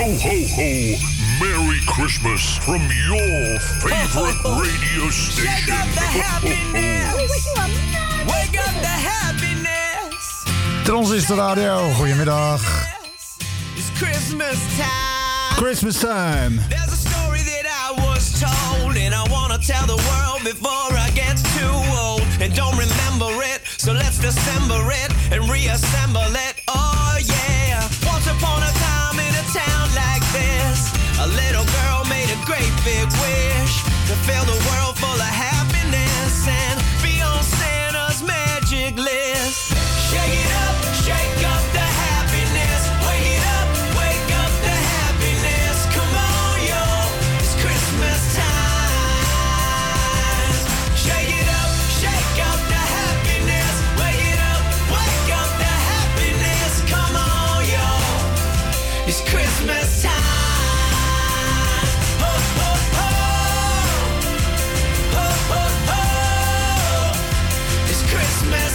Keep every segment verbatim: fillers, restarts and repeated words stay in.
ho, ho. Merry Christmas from your favorite radio station. Shake up the happiness. Wake up the happiness. Transistor Radio, goedemiddag. It's Christmas time. Christmas time. There's a story that I was told, and I wanna tell the world before I get too old and don't remember it. So let's dissemble it and reassemble it. Oh yeah. Once upon a time in a town like this, a little girl made a great big wish to fill the world full of happiness and be on Santa's magic list. Shake it up, shake up the happiness. Wake it up, wake up the happiness. Come on, yo, it's Christmas time. Shake it up, shake up the happiness. Wake it up, wake up the happiness. Come on, yo, it's Christmas time. Christmas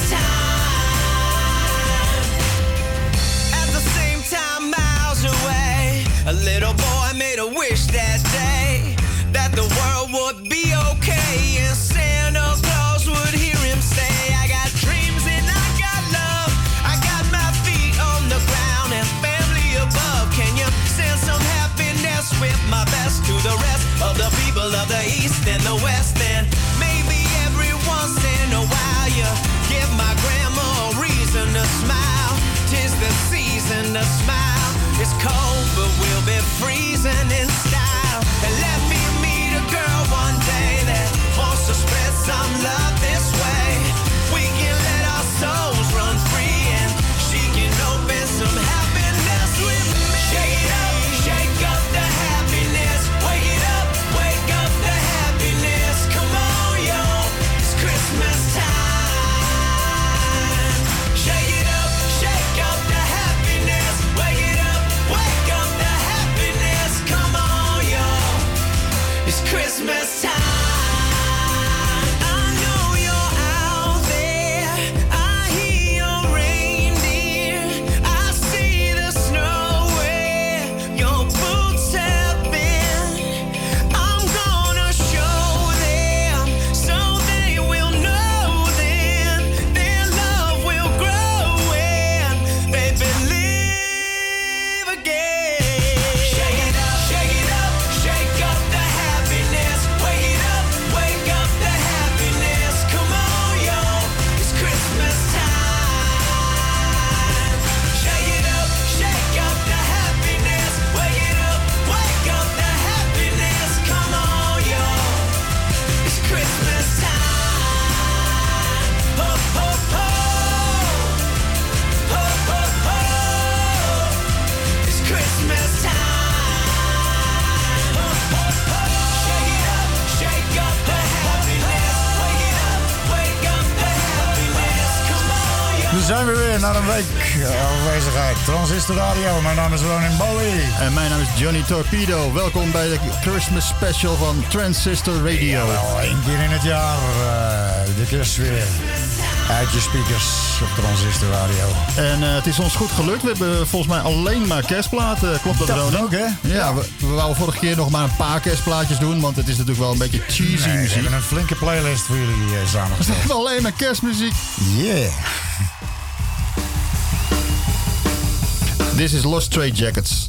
time. At the same time, miles away, a little boy made a wish that day that the world would be okay and Santa Claus would hear him say, I got dreams and I got love, I got my feet on the ground and family above. Can you send some happiness with my best to the rest of the people of the East and the West? And maybe every once in a while you give my grandma a reason to smile. 'Tis the season to smile. It's cold, but we'll be freezing in style. And let me meet a girl one day that wants to spread some love this way. We can let our souls run free and she can open some happiness with me. Shake it up, shake up the happiness. Wake it up, wake up the happiness. Come on, yo, it's Christmas time. Christmas time. I know you're out there. I hear your reindeer. I see the snow where your boots have been. I'm gonna show them so they will know then their love will grow when they believe again. Shake it up, shake it up, shake up the happiness. Wake it up, wake up the happiness. Come on, yo, it's Christmas time. Shake it up, shake up the happiness. Wake it up, wake up the happiness. Come on, yo, it's Christmas time. Ho, ho, ho. Ho, ho, ho. It's Christmas time. Ho, ho, ho. Shake it up, shake up the happiness. Wake it up, wake up the happiness. Come on, yo. We zijn weer weer na een week afwezigheid. Transistor Radio, mijn naam is Ronin Bowie. En mijn naam is Johnny Torpedo. Welkom bij de Christmas special van Transistor Radio. Wel één keer in het jaar, uh, de kerst weer. Uit je speakers op Transistor Radio. En uh, het is ons goed gelukt. We hebben volgens mij alleen maar kerstplaten. Klopt dat, Dat Ronin? ook, hè? Ja, we, we wouden vorige keer nog maar een paar kerstplaatjes doen. Want het is natuurlijk wel een beetje cheesy Nee, we muziek. hebben een flinke playlist voor jullie uh, samengesteld. We hebben alleen maar kerstmuziek. Yeah. This is Lost Stray Jackets.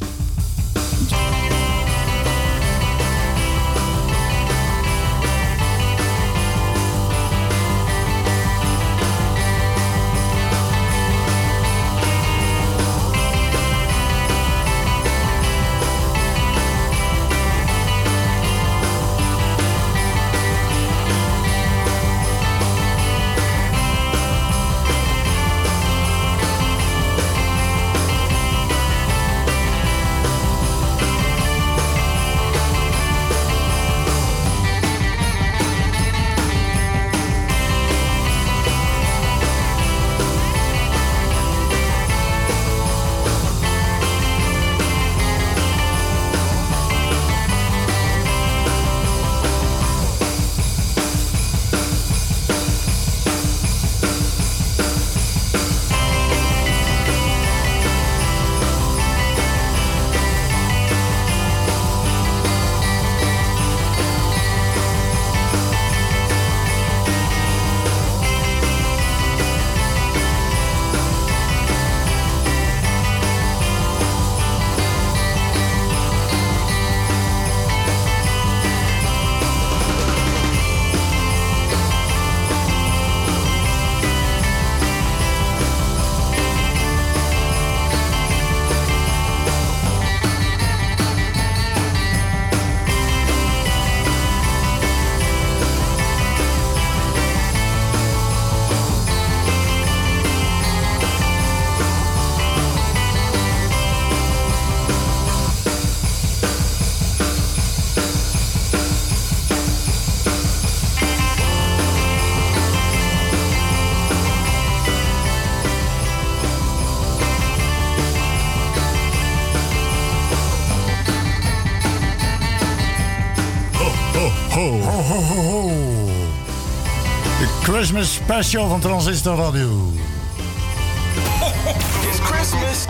ho. Ho, ho, ho, ho. De Christmas special van Transistor Radio. It's Christmas.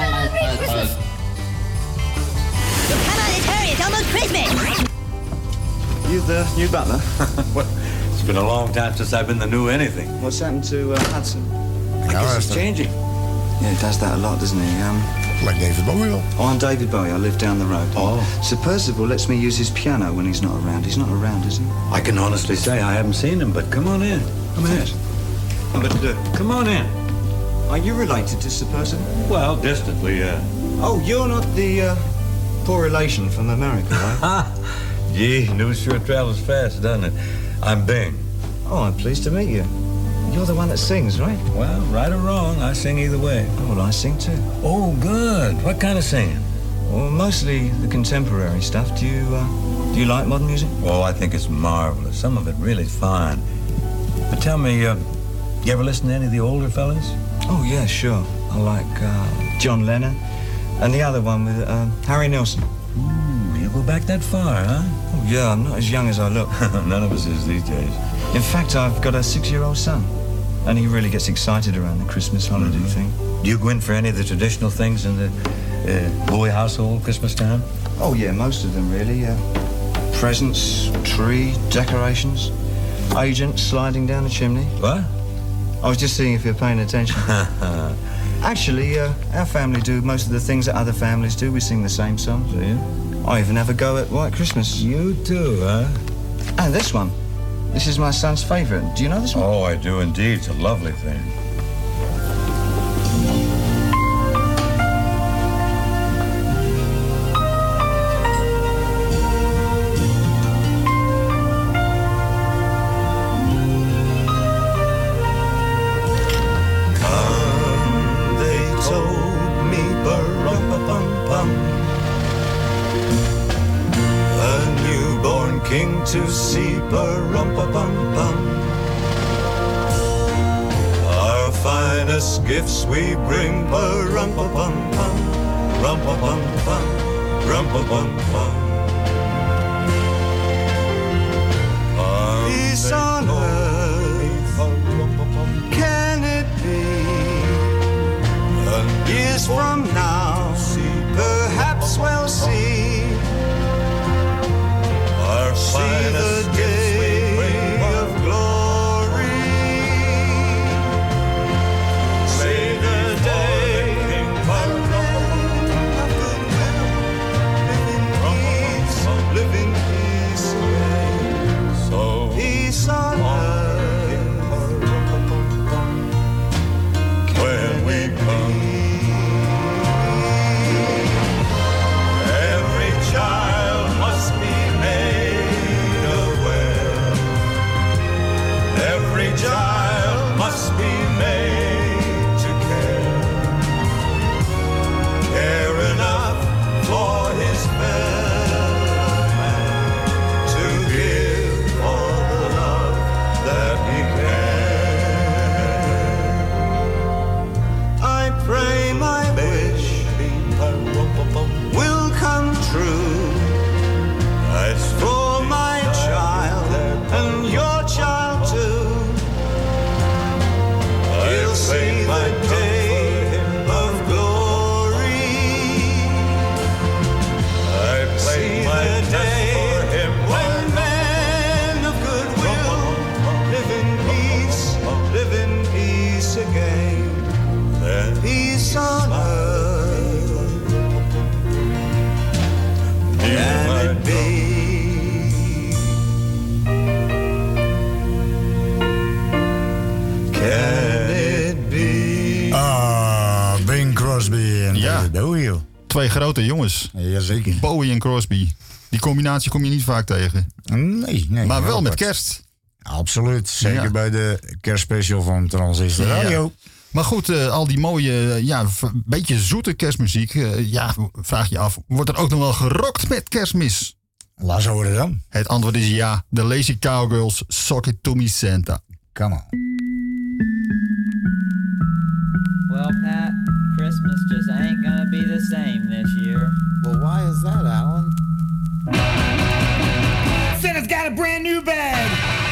Come on, let's hurry. It's almost Christmas. You the new butler? Well, it's been a long time since I've been the new anything. What's happened to uh, Hudson? I guess it's changing. Yeah, he does that a lot, doesn't he? Um, like David Bowie. Oh, I'm David Bowie. I live down the road. Oh. Sir Percival lets me use his piano when he's not around. He's not around, is he? I can honestly say I haven't seen him, but come on in. Come in. But uh, Come on in. are you related to Sir Percival? Well, distantly, yeah. Oh, you're not the uh, poor relation from America, right? Ha! Gee, news sure travels fast, doesn't it? I'm Bing. Oh, I'm pleased to meet you. You're the one that sings, right? Well, right or wrong, I sing either way. Oh, well, I sing too. Oh, good. What kind of singing? Well, mostly the contemporary stuff. Do you, uh, do you like modern music? Oh, I think it's marvelous. Some of it really fine. But tell me, uh, you ever listen to any of the older fellas? Oh, yeah, sure. I like uh, John Lennon and the other one with uh, Harry Nilsson. Hmm, you go back that far, huh? Oh, yeah, I'm not as young as I look. None of us is these days. In fact, I've got a six-year-old son, and he really gets excited around the Christmas holiday Mm-hmm. thing. Do you go in for any of the traditional things in the uh, Bowie household Christmas time? Oh, yeah, most of them, really. Uh, presents, tree, decorations, agents sliding down the chimney. What? I was just seeing if you're paying attention. Actually, uh, our family do most of the things that other families do. We sing the same songs. Do you? I even have a go at White Christmas. You too, huh? And this one. This is my son's favourite. Do you know this one? Oh, I do indeed. It's a lovely thing. To see ba-rum-pa-bum-bum. Our finest gifts we bring ba-rum-pa-bum-bum, rum-pa-bum-bum, rum-pa-bum-bum. Peace on earth, can it be? And years from now, perhaps we'll see. See the day of glory. See the day of goodwill. Live in peace, live in peace again. So peace on earth. When we come, every child must be made. Every child must be made to care, care enough for his fellow man, to give all the love that he can. I pray my wish will come true. As for my child and your child too, he'll see the day of glory. I see the day when men of goodwill live in peace, live in peace again. Then peace on earth, can it be? Can it be? Ah, Bing Crosby en Ja. David Bowie. Twee grote jongens. Jazeker. Bowie en Crosby. Die combinatie kom je niet vaak tegen. Nee, nee. Maar wel heel met apart. kerst. Absoluut. Zeker Ja. bij de kerstspecial van Transistor Radio. Ja. Maar goed, uh, al die mooie, uh, ja, v- beetje zoete kerstmuziek. Uh, ja, vraag je af, wordt er ook nog wel gerokt met kerstmis? Laat ze horen dan. Het antwoord is ja. De Lazy Cowgirls, Sock It To Me Santa. Come on. Well, Pat, Christmas just ain't gonna be the same this year. Well, why is that, Alan? Santa's got got a brand new bag.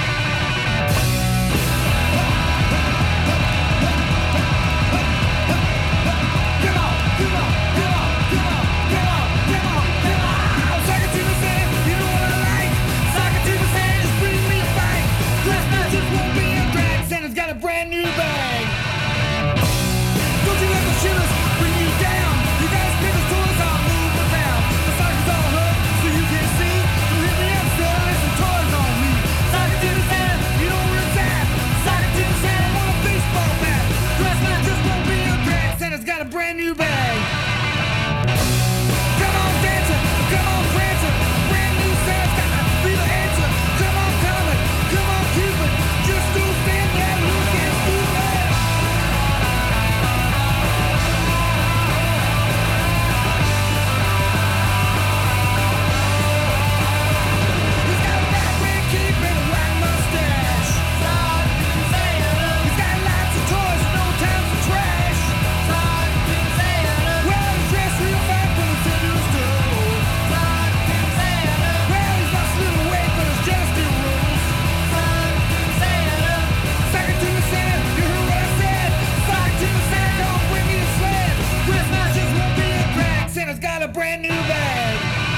Santa's got a brand new bag. Don't you let the shitters bring you down. You guys spin the toys all move around. The sockets all hurt so you can see. So hit me up, Santa, there's some toys on me. Socket to the Santa, you don't resist. Socket to the Santa, want a baseball bat. Christmas just won't be a drag. Santa's got a brand new bag. Come on, dancer, come on, prancer. Brand new Santa's got to be the answer. Come on, Comet, come on, Cupid. Just do stand there, look and do that. He's got a black red cape and a white mustache. He's got lots of toys, no time for trash. Well, he's dressed real fine for the Santa's door. Well, he's lost a little weight, but his jealous still rules. Socket to the Santa, you heard what I said. Socket to the Santa, come bring me a sled. Christmas just won't be a drag. Santa's got a brand new bag.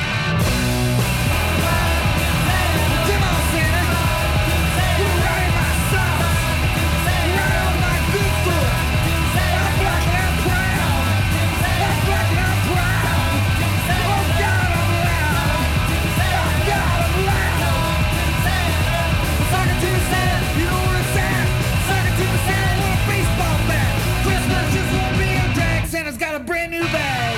Come on, Santa. You're right in my socks. Right on my good foot. I'm black and I'm proud. I'm black and I'm proud. Oh, God, I'm loud. Oh, God, I'm loud. Socket to the Santa, you know where it's at. Socket to the Santa, want a baseball bat. Christmas just won't be a drag. Santa's got a brand new bag.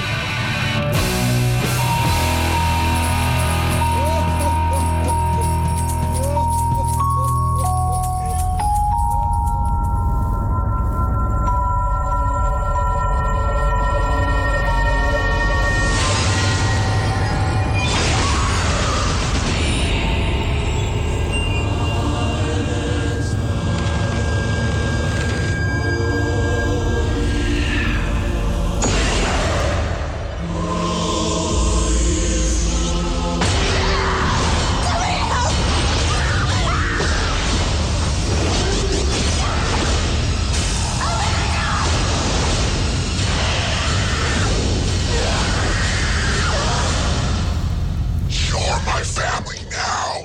You're my family now.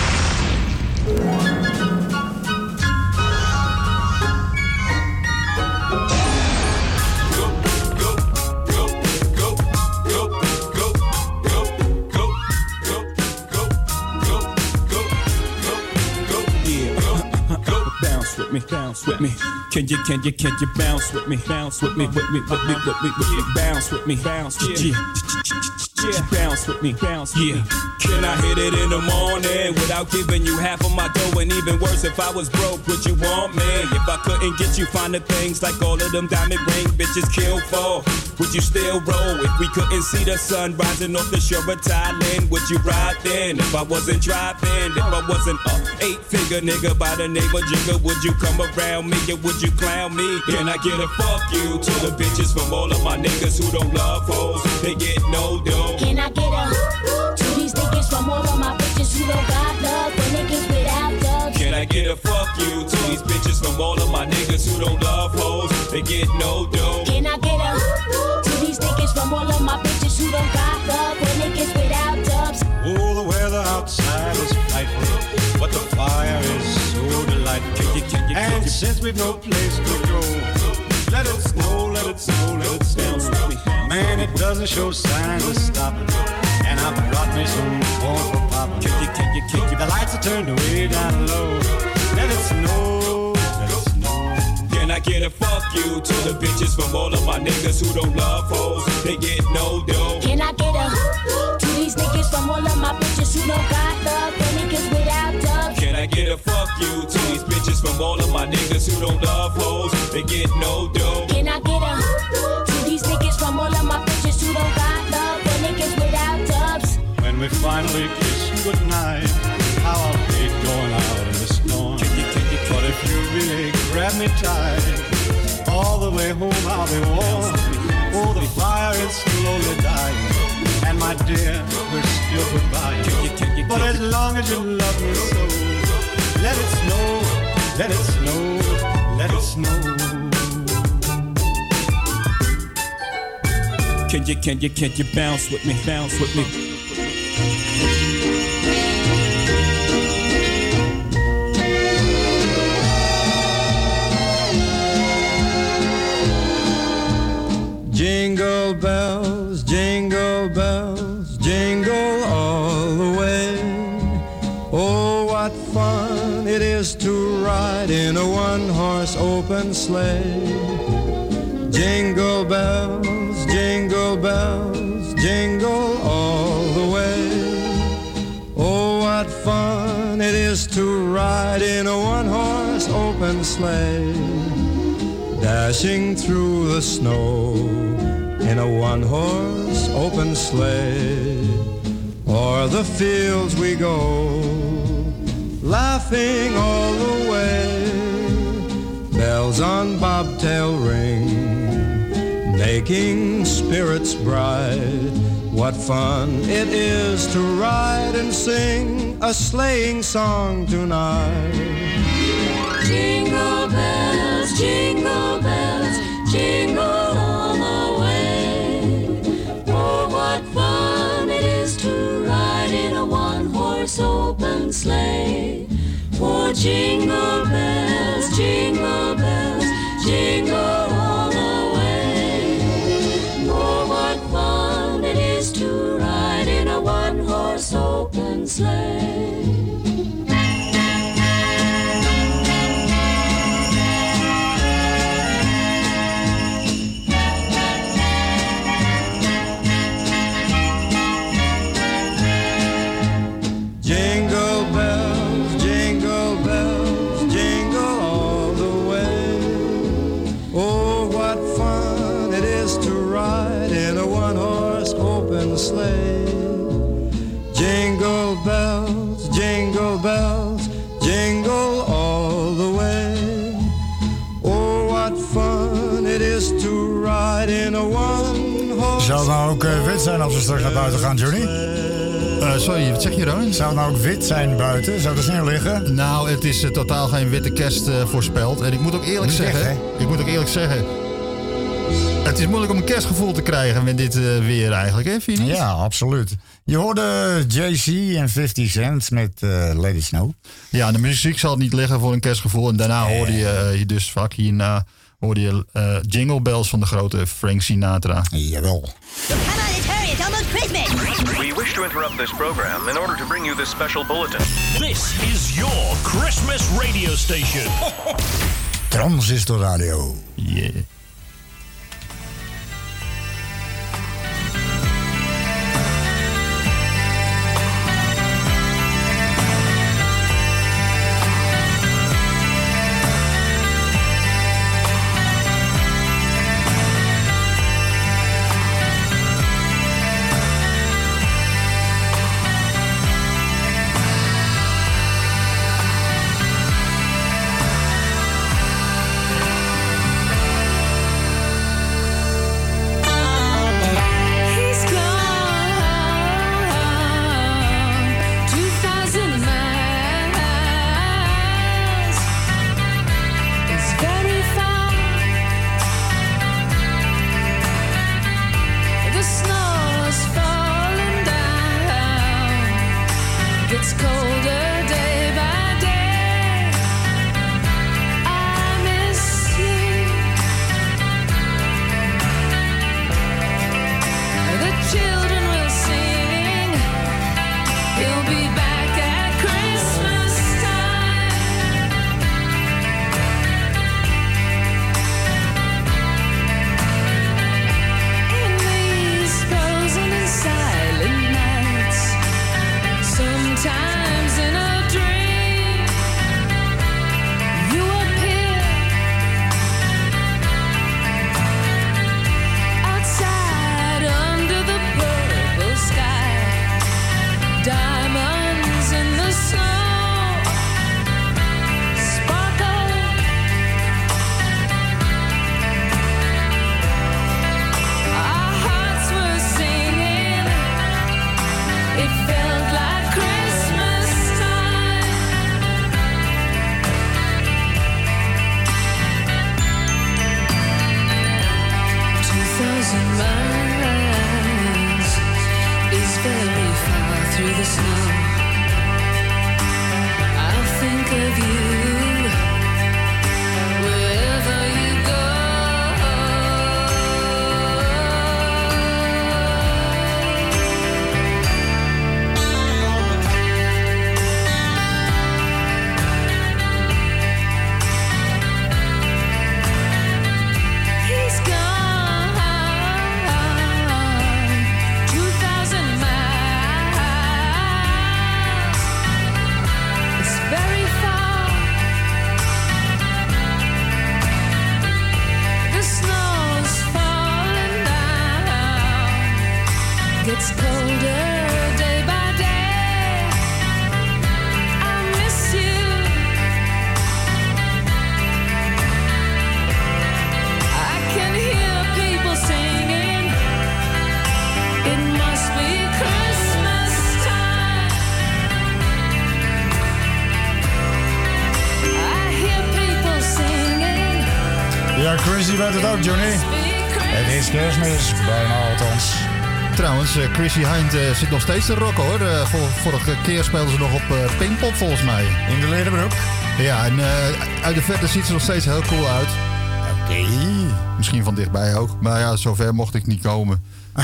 Bounce with me, bounce with me. Can you, can you, can you bounce with me? Bounce with me, with me, with me, with me, with me. Bounce with me, bounce, yeah. Yeah, bounce with me, bounce with me. Can I hit it in the morning without giving you half of my dough? And even worse, if I was broke, would you want me? If I couldn't get you finer things like all of them diamond ring bitches kill for, would you still roll? If we couldn't see the sun rising off the shore of Thailand, would you ride then? If I wasn't driving, if I wasn't a eight-figure nigga by the name of Jigga, would you come around me or would you clown me? Can I get a fuck you to the bitches from all of my niggas who don't love hoes? They get no dough. Can I get a to these niggas from all of my bitches who don't got love for niggas without dubs? Can I get a fuck you to these bitches from all of my niggas who don't love hoes? They get no dough. Can I get a to these niggas from all of my bitches who don't got love for niggas without dubs? Oh, the weather outside is frightful, but the fire is so delightful. And since we've no place to go, let it snow, let it snow, let it snow. Man, it doesn't show signs of stopping. And I brought me some corn for popping. The lights are turned way down low. Let it snow, let it snow. Can I get a fuck you to the bitches from all of my niggas who don't love hoes? They get no dough. Can I get a to these niggas from all of my bitches who don't got love for niggas without dubs? Can I get a fuck you to these bitches from all of my niggas who don't love hoes? They get no dough. Can I get a to these niggas from all of my bitches who don't got love for niggas without dubs? When we finally kiss goodnight, how I'll hate going out in the storm. But if you really grab me tight, all the way home I'll be warm. Oh, the fire is slowly dying, and my dear, we're still goodbye. But as long as you love let it snow, let it snow. Can you, can you, can you bounce with me, bounce with me? Jingle bells, jingle bells, jingle all the way. Oh, what fun it is to ride in a one-horse open sleigh. Jingle bells, jingle bells, jingle all the way. Oh, what fun it is to ride in a one-horse open sleigh. Dashing through the snow in a one-horse open sleigh. O'er the fields we go, laughing all the way. Bells on bobtail ring, making spirits bright. What fun it is to ride and sing a sleighing song tonight. Jingle bells, jingle bells, jingle all the way. Oh, what fun it is to ride in a one-horse open sleigh. Oh, jingle bells, jingle bells, jingle all the way. Oh, what fun it is to ride in a one-horse open sleigh. Sleigh. Jingle bells, jingle bells, jingle all the way. Oh, what fun it is to ride in a one-horse. Zou het nou ook uh, wit zijn als we straks naar buiten gaan, Johnny? Uh, sorry, wat zeg je dan? Zou het nou ook wit zijn buiten? Zou er sneeuw liggen? Nou, het is uh, totaal geen witte kerst uh, voorspeld. En ik moet ook eerlijk Niet zeggen... echt, ik moet ook eerlijk zeggen... Het is moeilijk om een kerstgevoel te krijgen met dit uh, weer eigenlijk, hè, vind je niet? Ja, absoluut. Je hoorde Jay Z en fifty cent met uh, Let It Snow. Ja, de muziek zal niet liggen voor een kerstgevoel. En daarna nee. hoorde je uh, dus vaak hierna hoorde je uh, Jingle Bells van de grote Frank Sinatra. Jawel. Come on, let's hurry. It's almost Christmas. We wish to interrupt this program in order to bring you this special bulletin. This is your Christmas radio station. Transistor Radio. Yeah. Time very far through the snow. I'll think of you wherever you go. He's gone two thousand miles. It's very far. The snow's falling down. Gets colder day by day. I miss you. I can hear people singing. It must be Christmas time. I hear people singing. Ja, Chrissy weet het ook, Johnny. Het is kerstmis, bijna althans. Trouwens, eh, Chrissy Hind eh, zit nog steeds te rocken hoor. Eh, vor- vorige keer speelden ze nog op eh, Pinkpop volgens mij. In de lederbroek? Ja, en eh, uit de verte ziet ze nog steeds heel cool uit. Oké. Misschien van dichtbij ook. Maar ja, zover mocht ik niet komen.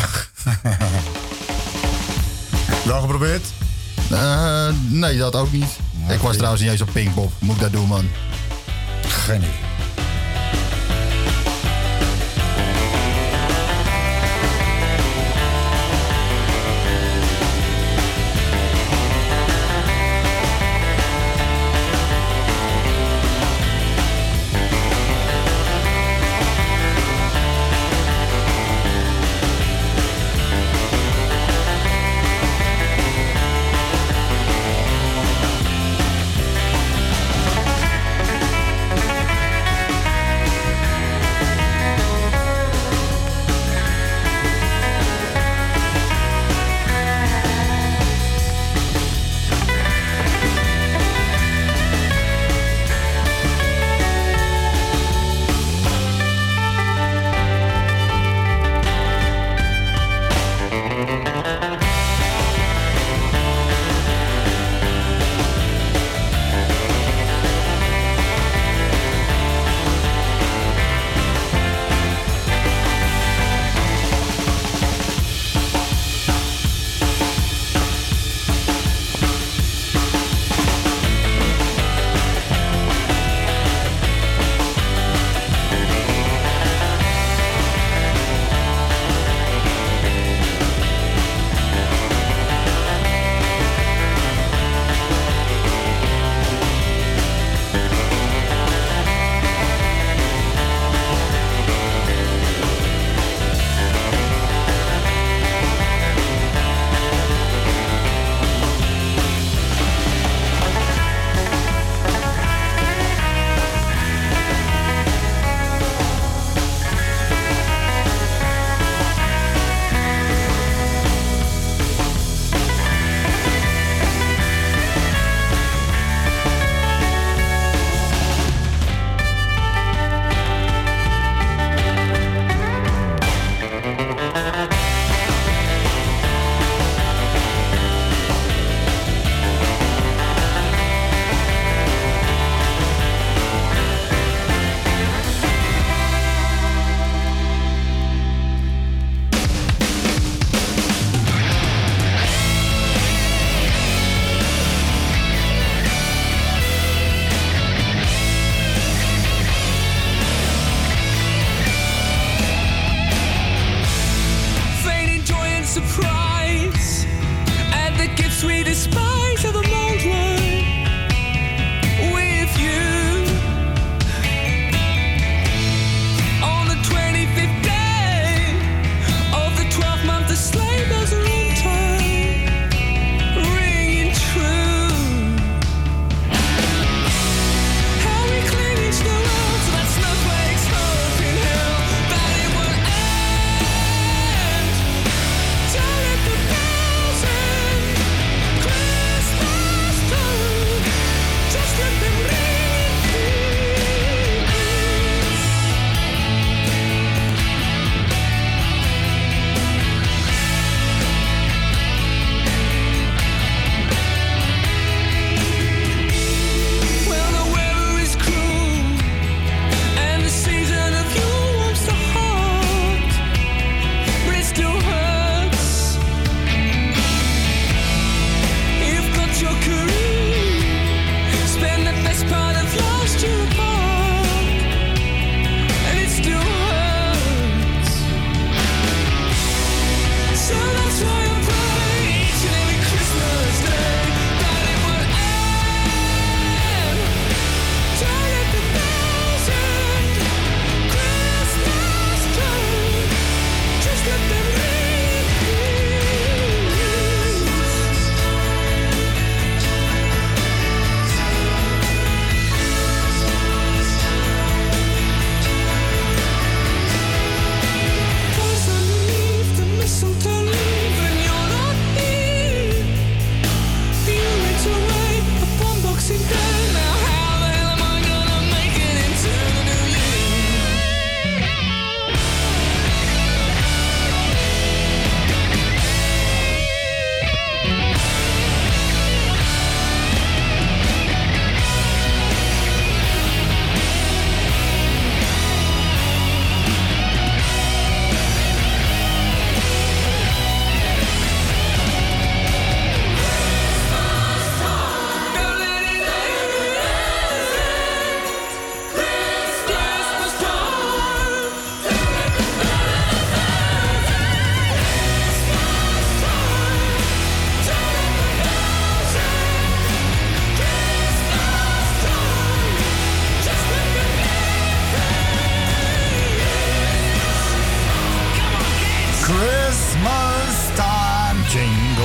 Wel geprobeerd? Eh, nee, dat ook niet. Ik was trouwens niet eens op Pinkpop. Moet ik dat doen, man? Geen idee.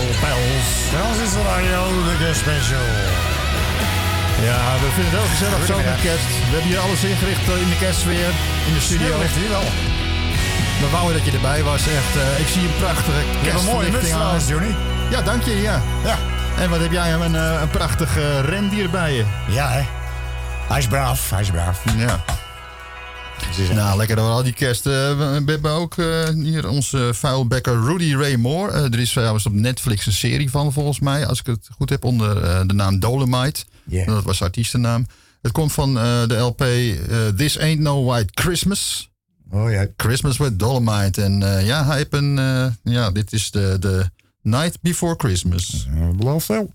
pels. Transistorradio, de kerstspecial. Ja, we vinden het heel gezellig zo met Goedemiddag. kerst. We hebben hier alles ingericht eh, in de kerstsfeer, in de studio. Ja, ligt hier wel. We wouden dat je erbij was, echt. eh, ik zie een prachtige Je hebt een mooie muts kerstverlichting aan. trouwens, Johnny. Ja, dank je, ja. Ja. En wat heb jij, een, eh, een prachtig eh, rendier bij je. Ja, hè. Hij is braaf, hij is braaf. Ja. Nou, lekker door al die kerst. Eh, we we hebben ook eh, hier onze vuilbekker Rudy Ray Moore. Eh, er is trouwens op Netflix een serie van, volgens mij. Als ik het goed heb, onder eh, de naam Dolomite. Yeah. Dat was de artiestennaam. Het komt van eh, de L P eh, This Ain't No White Christmas. Oh ja. Christmas with Dolomite. En eh, ja, hij heeft een... eh, ja, dit is de, de Night Before Christmas. Uh, beloof wel.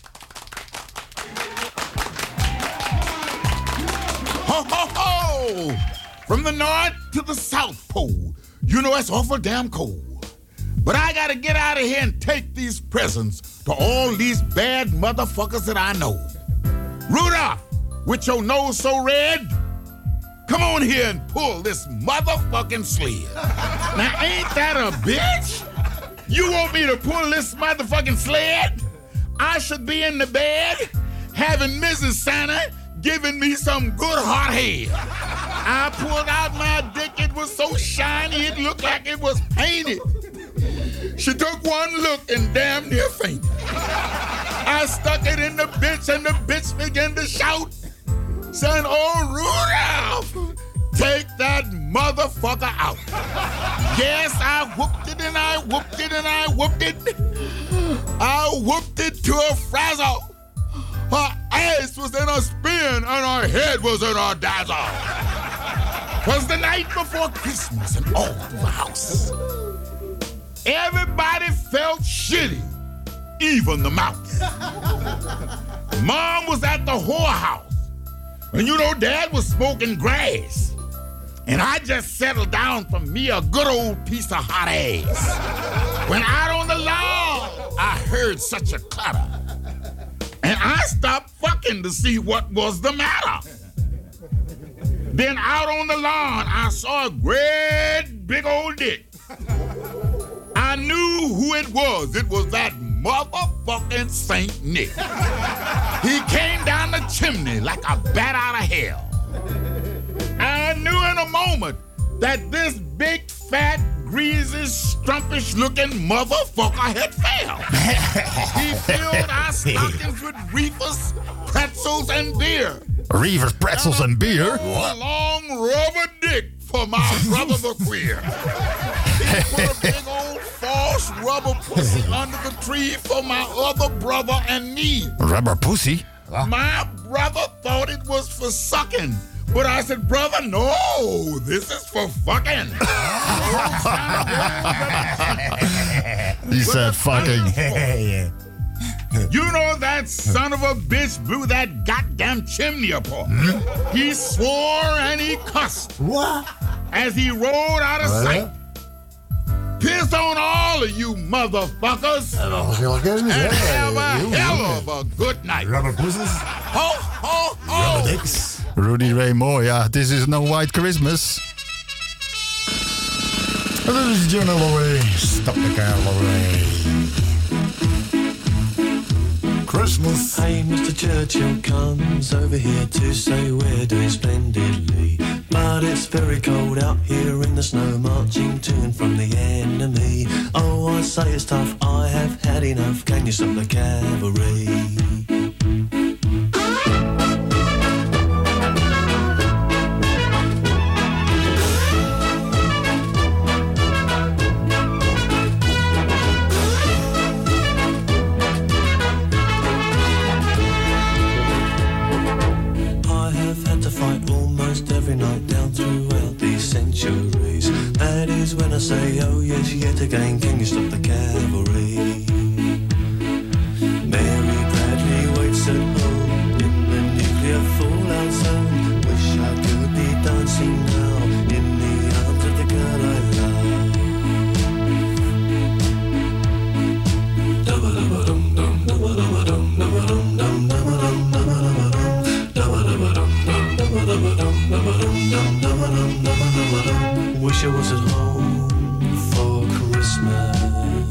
Ho, ho, ho! From the north to the south pole. You know it's awful damn cold. But I gotta get out of here and take these presents to all these bad motherfuckers that I know. Rudolph, with your nose so red, come on here and pull this motherfucking sled. Now ain't that a bitch? You want me to pull this motherfucking sled? I should be in the bed having Missus Santa giving me some good hot head. I pulled out my dick, it was so shiny it looked like it was painted. She took one look and damn near fainted. I stuck it in the bitch and the bitch began to shout, saying, "Oh, Rudolph, take that motherfucker out." Yes, I whooped it and I whooped it and I whooped it. I whooped it to a frazzle. Her ass was in a spin and her head was in a dazzle. 'Twas the night before Christmas and all through the house. Everybody felt shitty, even the mouse. Mom was at the whorehouse, and you know Dad was smoking grass. And I just settled down for me a good old piece of hot ass. When out on the lawn, I heard such a clatter. And I stopped fucking to see what was the matter. Then out on the lawn, I saw a great big old dick. I knew who it was. It was that motherfucking Saint Nick. He came down the chimney like a bat out of hell. I knew in a moment that this big, fat, greasy, strumpish-looking motherfucker had failed. He filled our stockings with reefers, pretzels, and beer. Reefers, pretzels, and beer? A long rubber dick for my brother the queer. He put a big old false rubber pussy under the tree for my other brother and me. Rubber pussy? My brother thought it was for sucking. But I said, brother, no, this is for fucking. He said fucking. You know that son of a bitch blew that goddamn chimney apart. He swore and he cussed. What? As he rolled out of sight. Piss on all of you motherfuckers. En have a hell of a good night. Rubber pussies. Ho, ho, ho. Rubber dicks. Rudy Ray Moore, ja. This is no white Christmas. Dit is John Holloway. Stop the car, Holloway. Christmas. Hey, Mister Churchill comes over here to say we're doing splendidly. But it's very cold out here in the snow, marching to and from the enemy. Oh, I say it's tough, I have had enough. Can you stop the cavalry? When I say, oh yes, yet again, can you stop the cavalry? Mary Bradley waits at home in the nuclear fallout zone. Wish I could be dancing now in the arms of the girl I love. Dum dum dum dum dum dum dum dum dum dum dum dum dum. Wish I was at home for Christmas.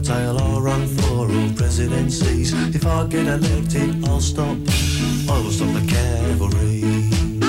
tail, I'll run for all presidencies. If I get elected, I'll stop, I will stop the cavalry.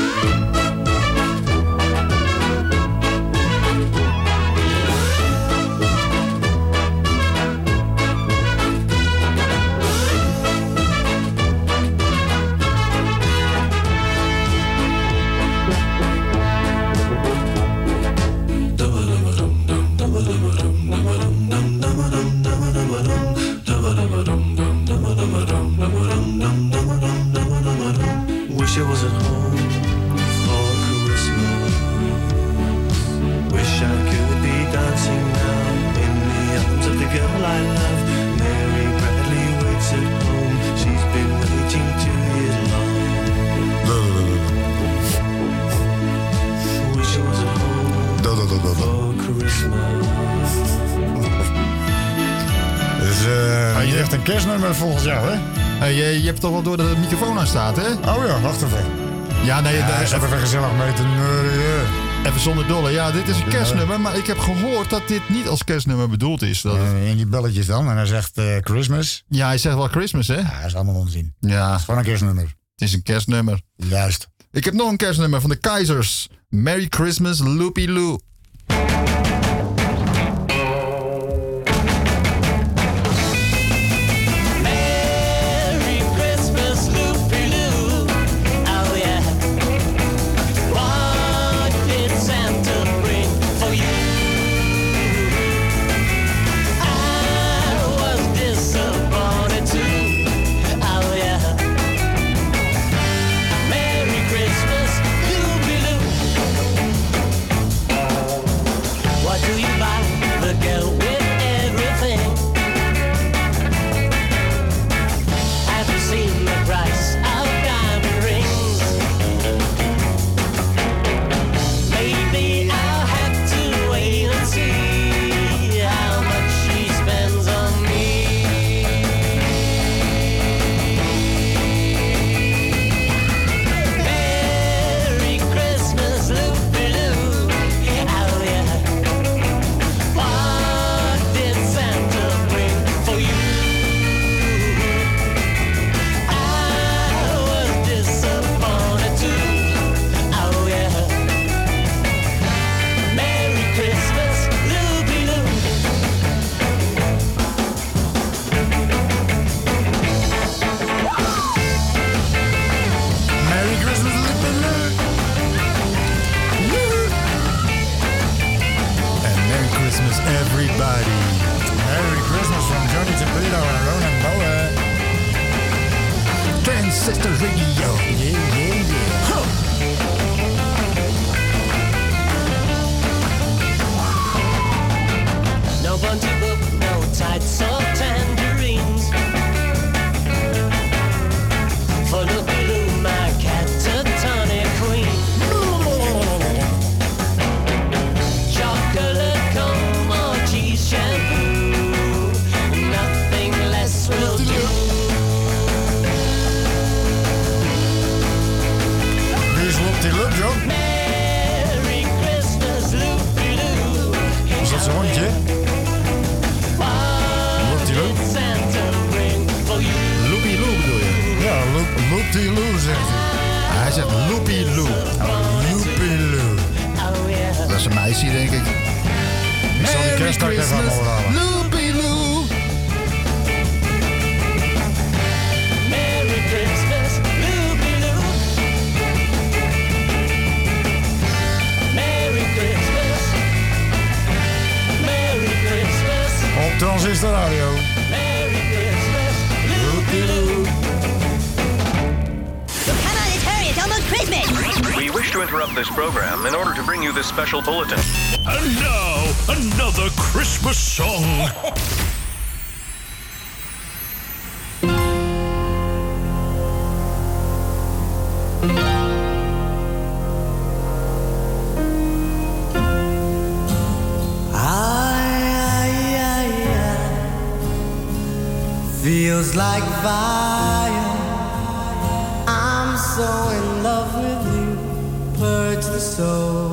Wish I was at home for Christmas. Wish I could be dancing now in the arms of the girl I love. Mary Bradley waits at home. She's been waiting two years long. Wish I was at home for Christmas. Dus uh, ah, je echt een kerstnummer volgens jou, hè? Hey, je, je hebt toch wel door dat de microfoon aan staat, hè? Oh ja, wacht even. Ja, nee, ja, daar is even gezellig mee te neurien. Even zonder dolle. Ja, dit is een kerstnummer, maar ik heb gehoord dat dit niet als kerstnummer bedoeld is. Dat uh, in die belletjes dan, en hij zegt uh, Christmas. Ja, hij zegt wel Christmas, hè? Ja, dat is allemaal onzin. Ja. Het is gewoon een kerstnummer. Het is een kerstnummer. Juist. Ik heb nog een kerstnummer van de Keizers. Merry Christmas, Loopy Loo. Transistor Radio. Come on, let's hurry. It's almost Christmas. We wish to interrupt this program in order to bring you this special bulletin. And now, another Christmas song. Feels like fire. I'm so in love with you. Purge the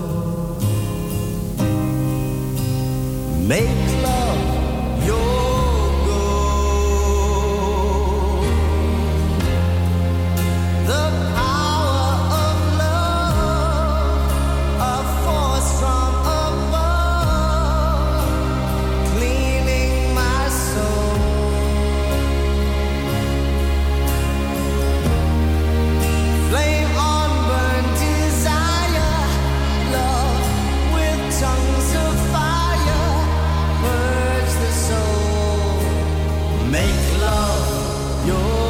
soul. Make love your Make love your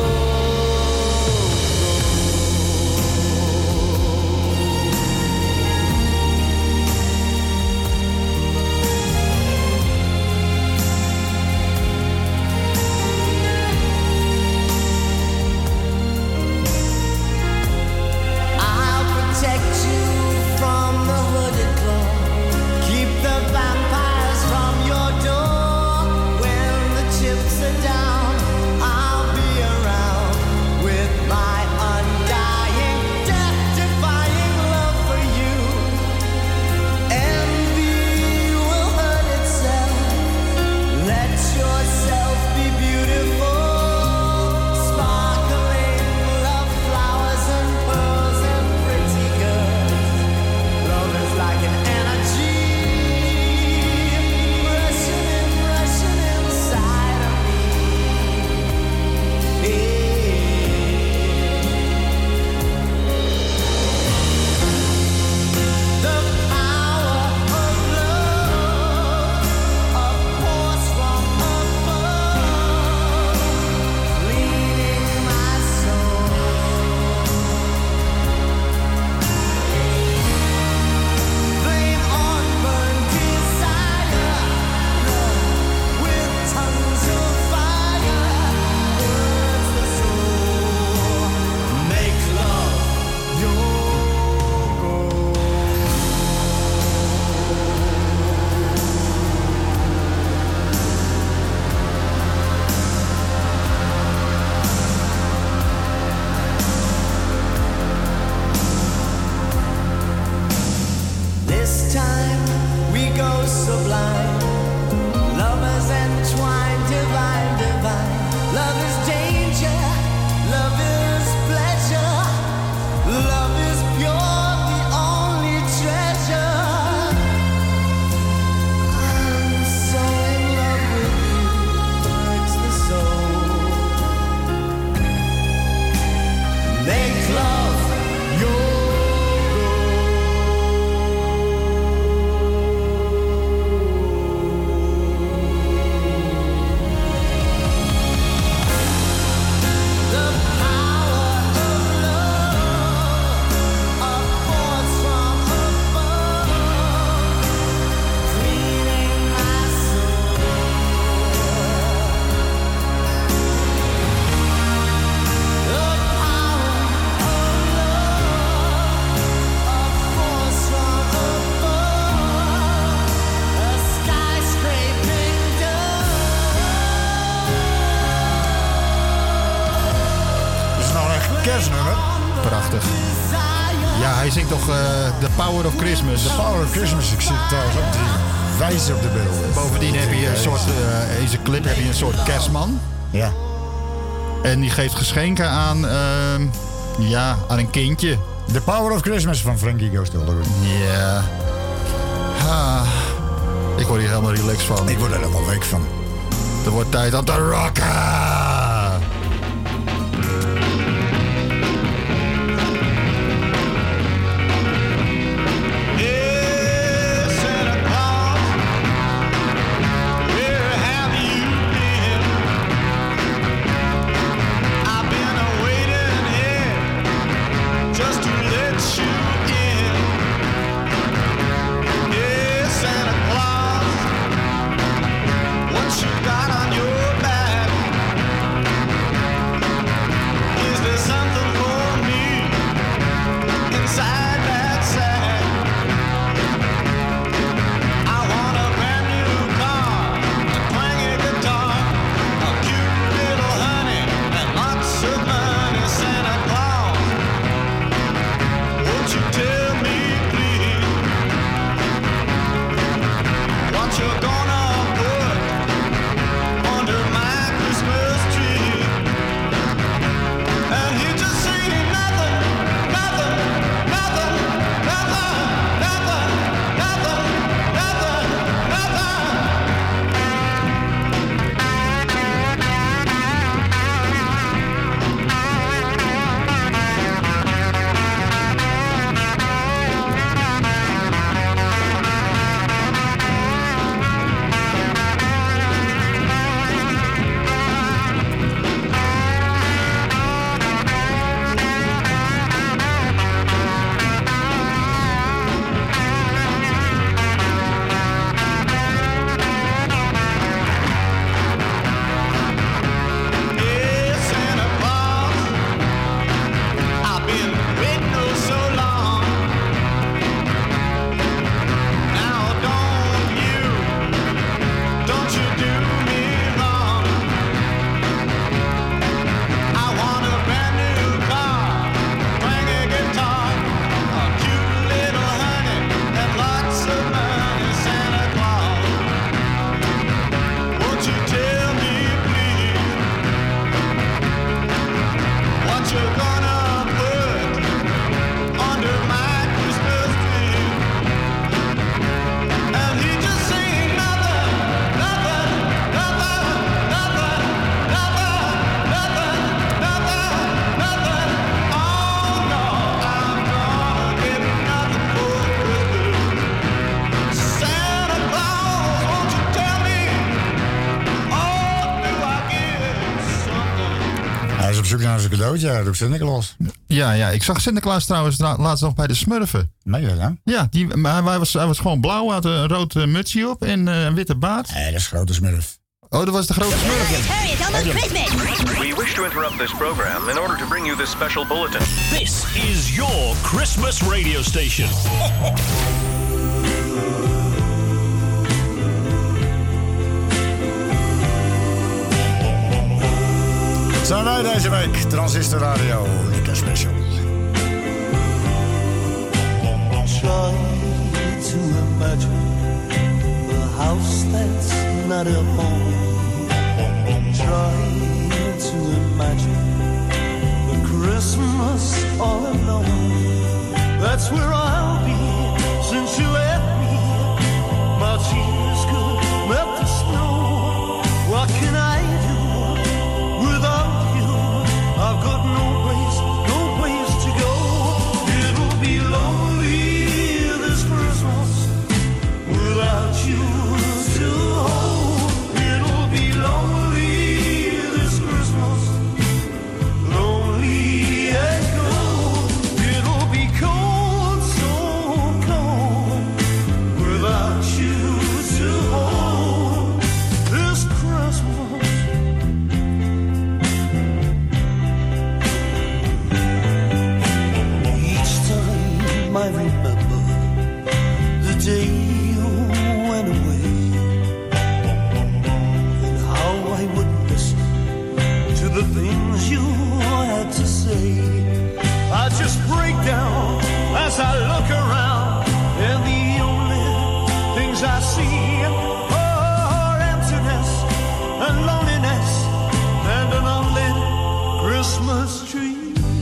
Prachtig. Ja, hij zingt toch uh, The Power of Christmas. The Power of Christmas. Ik zit trouwens op die wijze op de beelden. Bovendien heb je een soort, uh, in zijn clip heb je een soort kerstman. Ja. En die geeft geschenken aan, uh, ja, aan een kindje. The Power of Christmas van Frankie Goes to Hollywood. Ja. Ha. Ik word hier helemaal relaxed van. Ik word er helemaal week van. Er wordt tijd om te rocken. What you got on your back? zoek naar zijn cadeautje, ja, roept Sinterklaas. Ja, ja, ik zag Sinterklaas trouwens tra- laatst nog bij de Smurfen. Nee, ja, ja. Ja, die, maar hij was, hij was gewoon blauw, had een rood uh, mutsje op en uh, een witte baard. Nee, dat is grote Smurf. Oh, dat was de grote Smurf. It's almost Christmas. We wish to interrupt this program in order to bring you this special bulletin. This is your Christmas radio station. Zijn wij deze week, Transistor Radio, de kerstspecial. Try to imagine a house that's not a home. Try to imagine a Christmas all alone. That's where I'll be since you left me. My tears could melt the snow. What can I do without you? I've got no place, no place to go. It'll be lonely this Christmas without you to hold. It'll be lonely this Christmas, lonely and cold. It'll be cold, so cold without you to hold this Christmas. Each time I remember the day you went away and how I wouldn't listen to the things you had to say, I just break down as I look around, and the only things I see are emptiness and loneliness and an unlit Christmas tree.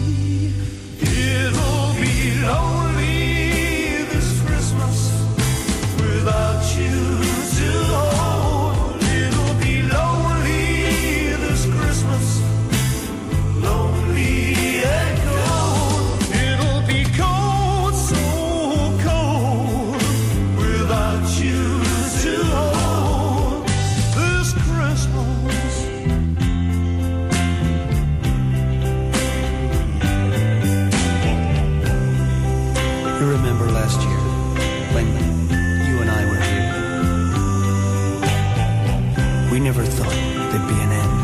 It'll be lonely this Christmas without you to hold. It'll be lonely this Christmas, lonely and cold. It'll be cold, so cold without you to hold this Christmas. You remember last year when you and I were here? We never thought there'd be an end.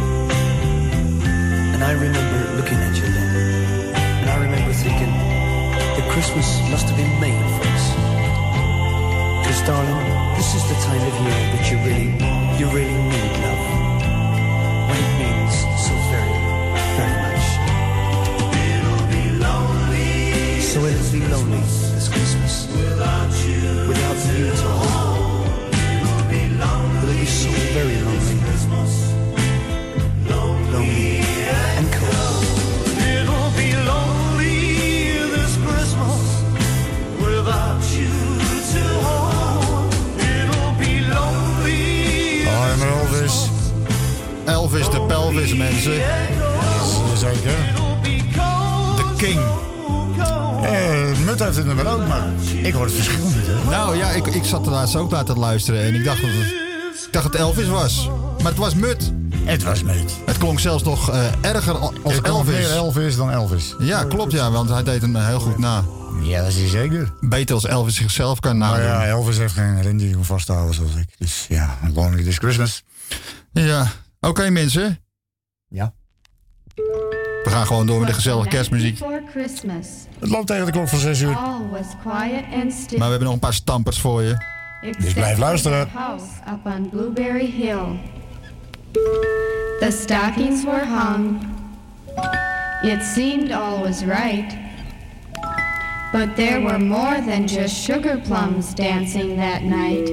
And I remember looking at you then, and I remember thinking that Christmas must have been made for us. Because darling, this is the time of year that you really, you really need love. When it means so very, very much. It'll be lonely. So it'll be lonely this Christmas without you, without you to hold. It'll be lonely. It'll be so very lonely, lonely and cold. It'll be lonely this Christmas without you to hold. It'll be lonely. Oh, maar Elvis. Elvis de pelvis, mensen. Zeker. De king. Eh, Mut heeft het nummer ook, maar ik hoor het verschil niet, hè? Nou ja, ik, ik zat er laatst ook naar te luisteren en ik dacht dat het, ik dacht dat het Elvis was. Maar het was Mut. Het was Mut. Het klonk zelfs nog uh, erger als het Elvis. meer Elvis dan Elvis. Ja, klopt ja, want hij deed hem heel goed na. Ja, dat is hij zeker. Beter als Elvis zichzelf kan nadoen. Maar ja, Elvis heeft geen rendier om vast te houden zoals ik. Dus ja, Lonely This Christmas. Ja, oké okay, mensen. Ja. We gaan gewoon door met de gezellige kerstmuziek. Het loopt tegen de klok van zes uur. Maar we hebben nog een paar stampers voor je. Dus blijf luisteren. House up on Blueberry Hill. The stockings were hung. It seemed all was right. But there were more than just sugar plums dancing that night.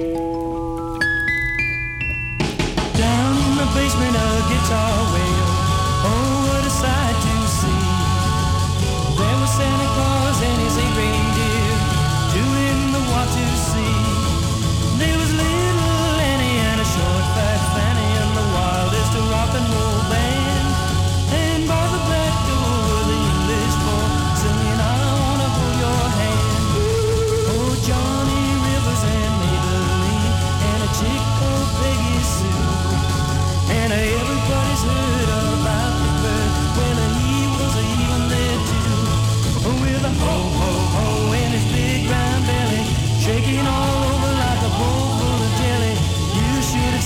Down in the basement a guitar wail. Oh, what a sight to see. There was Santa Claus and his eight reindeer doing the what to see. There was little Annie and a short fat Fanny and the wildest rock and roll band. And by the back door the English boy singing, I wanna hold your hand. Oh, Johnny Rivers and Maybelline and a chick called Peggy Sue. And everybody's heard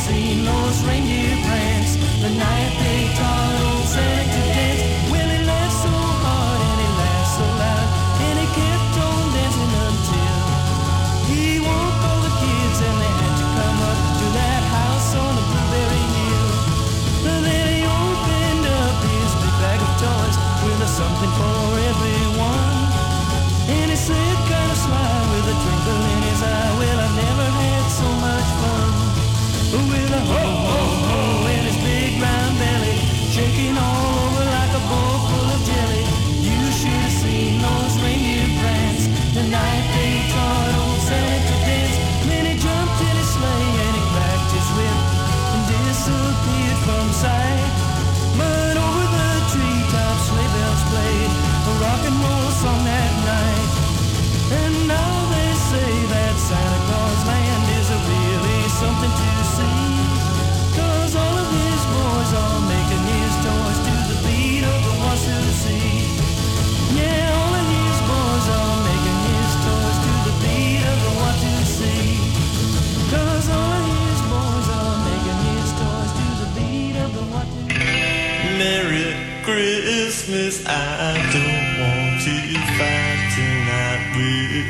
seen those reindeer prance the night they taught old Santa to dance. Well, he laughed so hard and he laughed so loud, and he kept on dancing until he woke all the kids and they had to come up to that house on the Blueberry Hill. Then he opened up his big bag of toys with a something for everyone, and he said kind of sly with a twinkle in his eye, well, I've never had so much fun. With a ho ho ho in his big round belly, shaking all over like a bowl full of jelly. You should have seen those reindeer prance the night they taught old Santa to dance. Then he jumped in his sleigh and he cracked his whip and disappeared from sight. But over the treetops sleigh bells played a rock and roll song that night. And now they say that Santa Claus land is a really something to see, 'cause all of his boys are making his toys to the beat of the Washoe Sea. Yeah, all of his boys are making his toys to the beat of the Washoe Sea, 'cause all of his boys are making his toys to the beat of the Washoe Sea. Merry Christmas, I don't want to fight tonight with.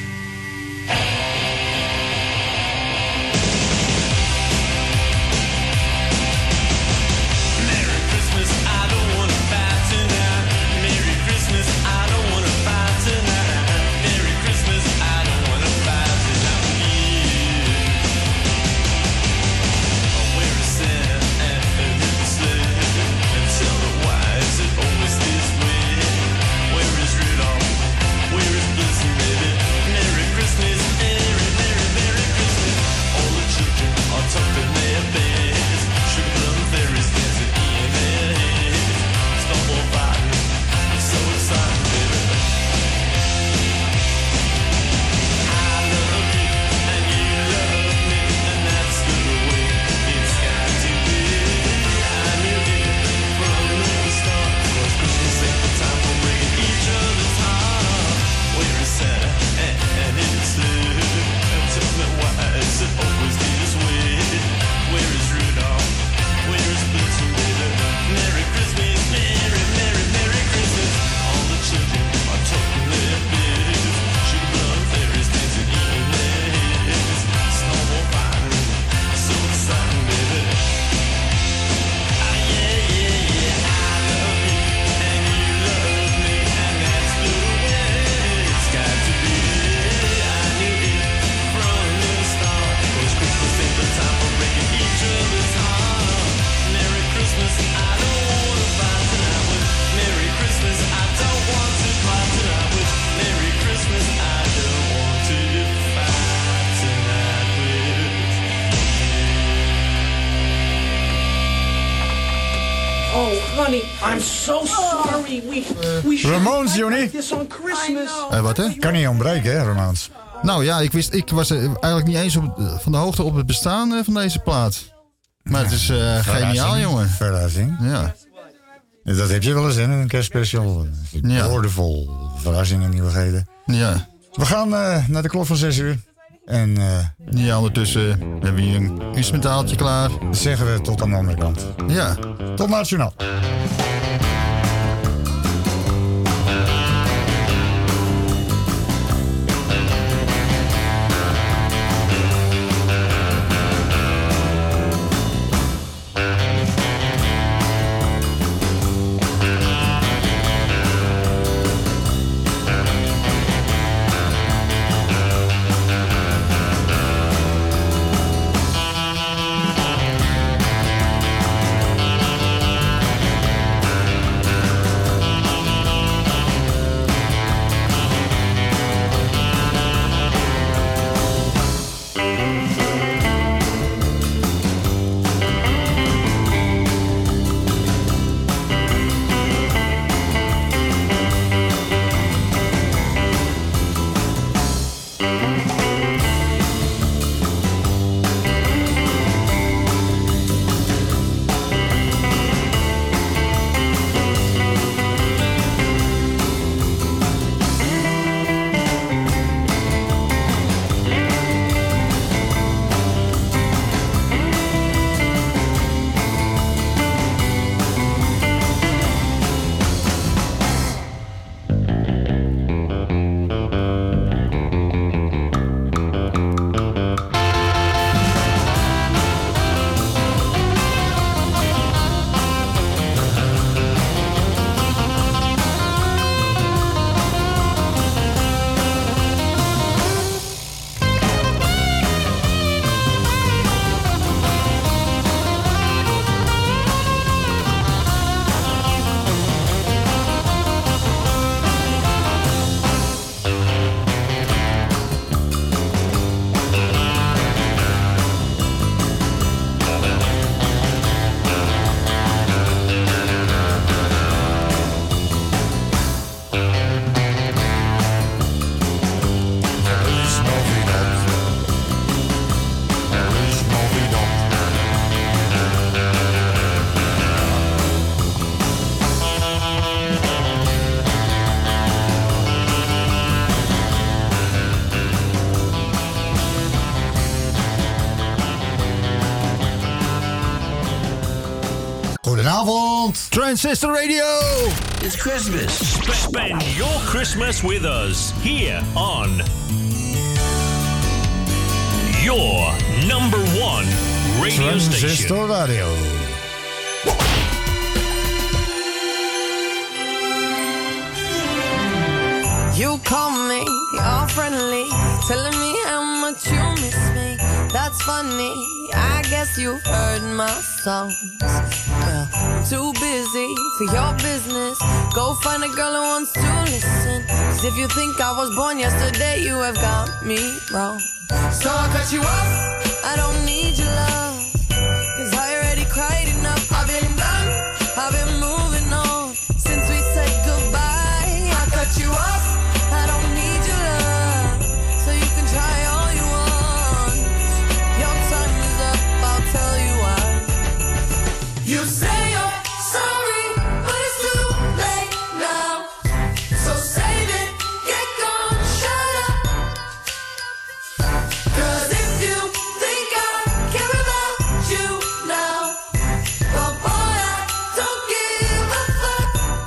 Merry Christmas, I don't want to fight tonight. Merry Christmas, I don't want to fight tonight. Merry Christmas, I don't want to fight tonight with you. Where is Santa and the sleigh? And tell me why is it always this way? Where is Rudolph? Where is Blitzen, baby? Merry Christmas, Merry, Merry, Merry Christmas. All the children are tucked in their beds. Sugar plum fairies dancing in their heads. Stumble fighting, it's so exciting, baby. I love you and you love me, and that's the way it's got to be. I knew it from the start, 'cause Christmas ain't the time for breaking each other's heart. Where is Santa and, and his sleigh? And tell me why is it always this way? Where is Rudolph? Where is Blitzen, baby? Merry Christmas, Merry, Merry, Merry Christmas. All the children are tucked in their beds. Sugar plum fairies dancing in their heads. Snowball fighting, so exciting, baby. Ah, yeah, yeah, yeah, I love you and you love me, and that's the way it's got to be. I knew it from the start, 'cause Christmas ain't the time for breaking each other's heart. Merry Christmas, I don't want to fight tonight with. Merry Christmas, I don't want to fight tonight with. Merry Christmas, I don't want to fight tonight with. Oh, honey, I'm so sorry. We, we should Ramones, have Johnny. this on Christmas. Eh, wat hè? Kan niet ontbreken, hè, Romaans? Nou ja, ik, wist, ik was eh, eigenlijk niet eens op, van de hoogte op het bestaan eh, van deze plaat. Maar het is eh, geniaal, jongen. Verrassing. Ja. Dat heb je wel eens, hè, een kerstspecial. Ja. Woordenvol verrassingen en nieuwigheden. Ja. We gaan eh, naar de klok van zes uur. En eh, ja, ondertussen hebben we hier een instrumentaaltje klaar. Dan zeggen we tot aan de andere kant. Ja. Tot na het journaal. Goedenavond. Transistor Radio. It's Christmas. Spend your Christmas with us here on your number one radio Transistor station. Radio. You call me all friendly, telling me how much you miss me. That's funny, I guess you've heard my songs. Well, I'm too busy for your business. Go find a girl who wants to listen. Cause if you think I was born yesterday, you have got me wrong. So I cut you off, I don't need your love. Cause I already cried enough, I've been done, I've been moving on. Since we said goodbye, I cut you off. I don't need your love, so you can try all you want. Your time is up, I'll tell you why. You say you're sorry, but it's too late now. So save it, get gone, shut up. Cause if you think I care about you now, well boy, I don't give a fuck.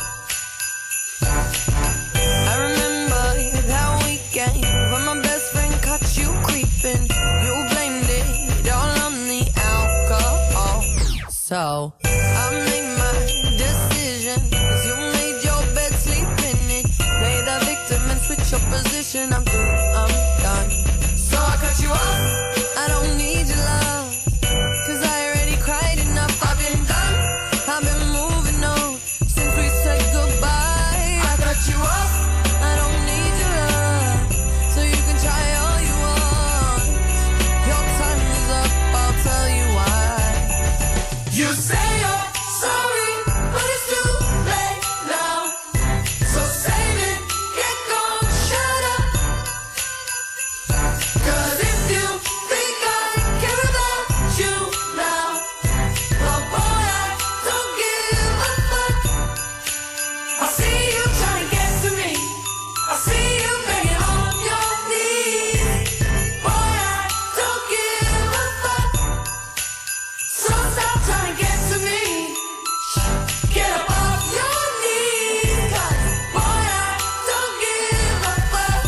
I remember that weekend when my best friend caught you creeping. You blamed it all on the alcohol. So I made my decision, cause you made your bed, sleep in it. Play the victim and switch your position. I'm through, I'm done. So I cut you off, I don't need your love. Cause I already cried enough, I've been done, I've been moving on. Since we said goodbye, I cut you off, I don't need your love. So you can try all you want. Your time is up, I'll tell you why. You say you're sorry, but it's too late now. So save it, get gone, shut up. Cause if you think I care about you now, well boy, I don't give a fuck. I see you trying to get to me, I see you begging on your knees. Boy, I don't give a fuck. So stop trying to get to me, get up off your knees. Cause boy, I don't give a fuck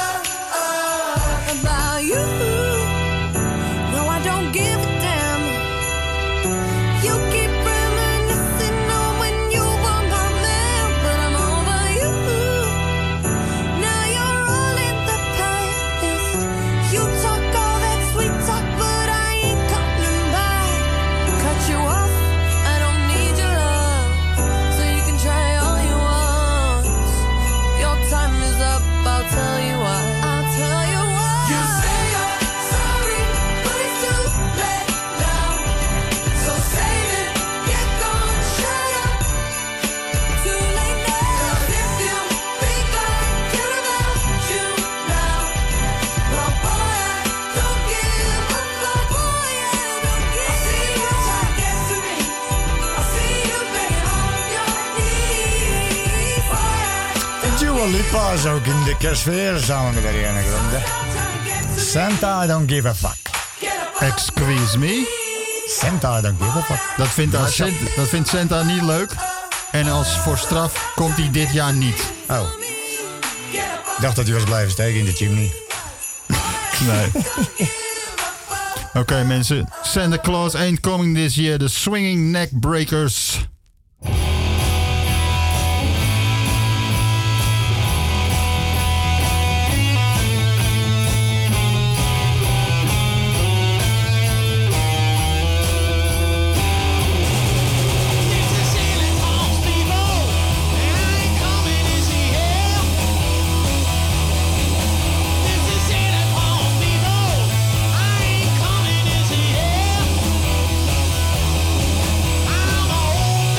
about you. No, I don't give a damn. You keep reminiscing on when you were my man, but I'm over you. Now you're all in the past. You talk all that sweet talk, but I ain't coming back. Cut you off, I don't need your love, so you can try all you want. Your time is up, I'll tell you why. I'll tell you why. You say you're sorry, but it's too late now. So save it, get gone, shut up. Too late now. Cause if you think I care about you now, well boy, I don't give a fuck. Boy, I don't give a fuck. I see you trying to get to me, I see you begging on your knees. Boy, I Dua Lipa is ook in de kerstsfeer samen met Ariana Grande. Santa, I don't give a fuck. Excuse me? Santa, I don't give a fuck. Dat vindt, Nou, als Santa, dat vindt Santa niet leuk. En als voor straf komt hij dit jaar niet. Oh. Ik dacht dat hij was blijven steken in de chimney. Nee. Oké okay, mensen. Santa Claus ain't coming this year. The Swinging Neck Breakers. I'm a old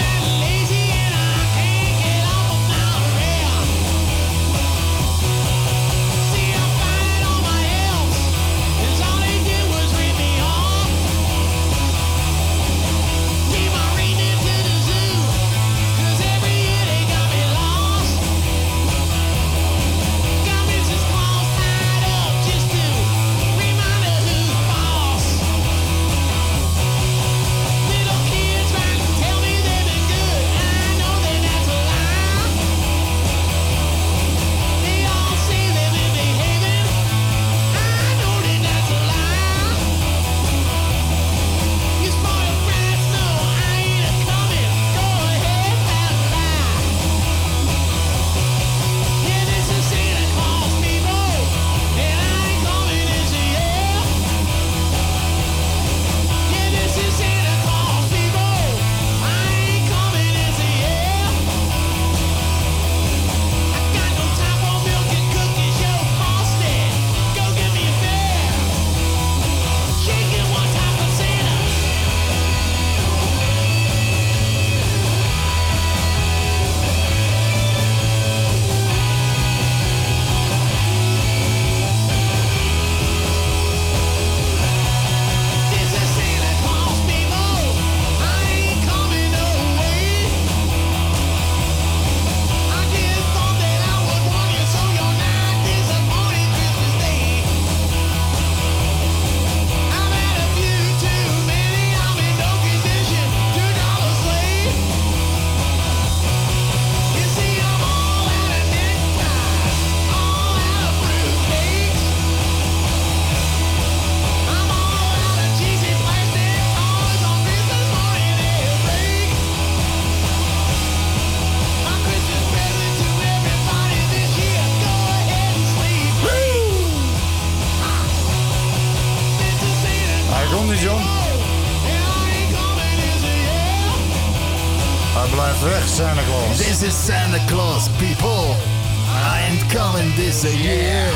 blijft weg, Santa Claus. This is Santa Claus, people. I ain't coming this a year.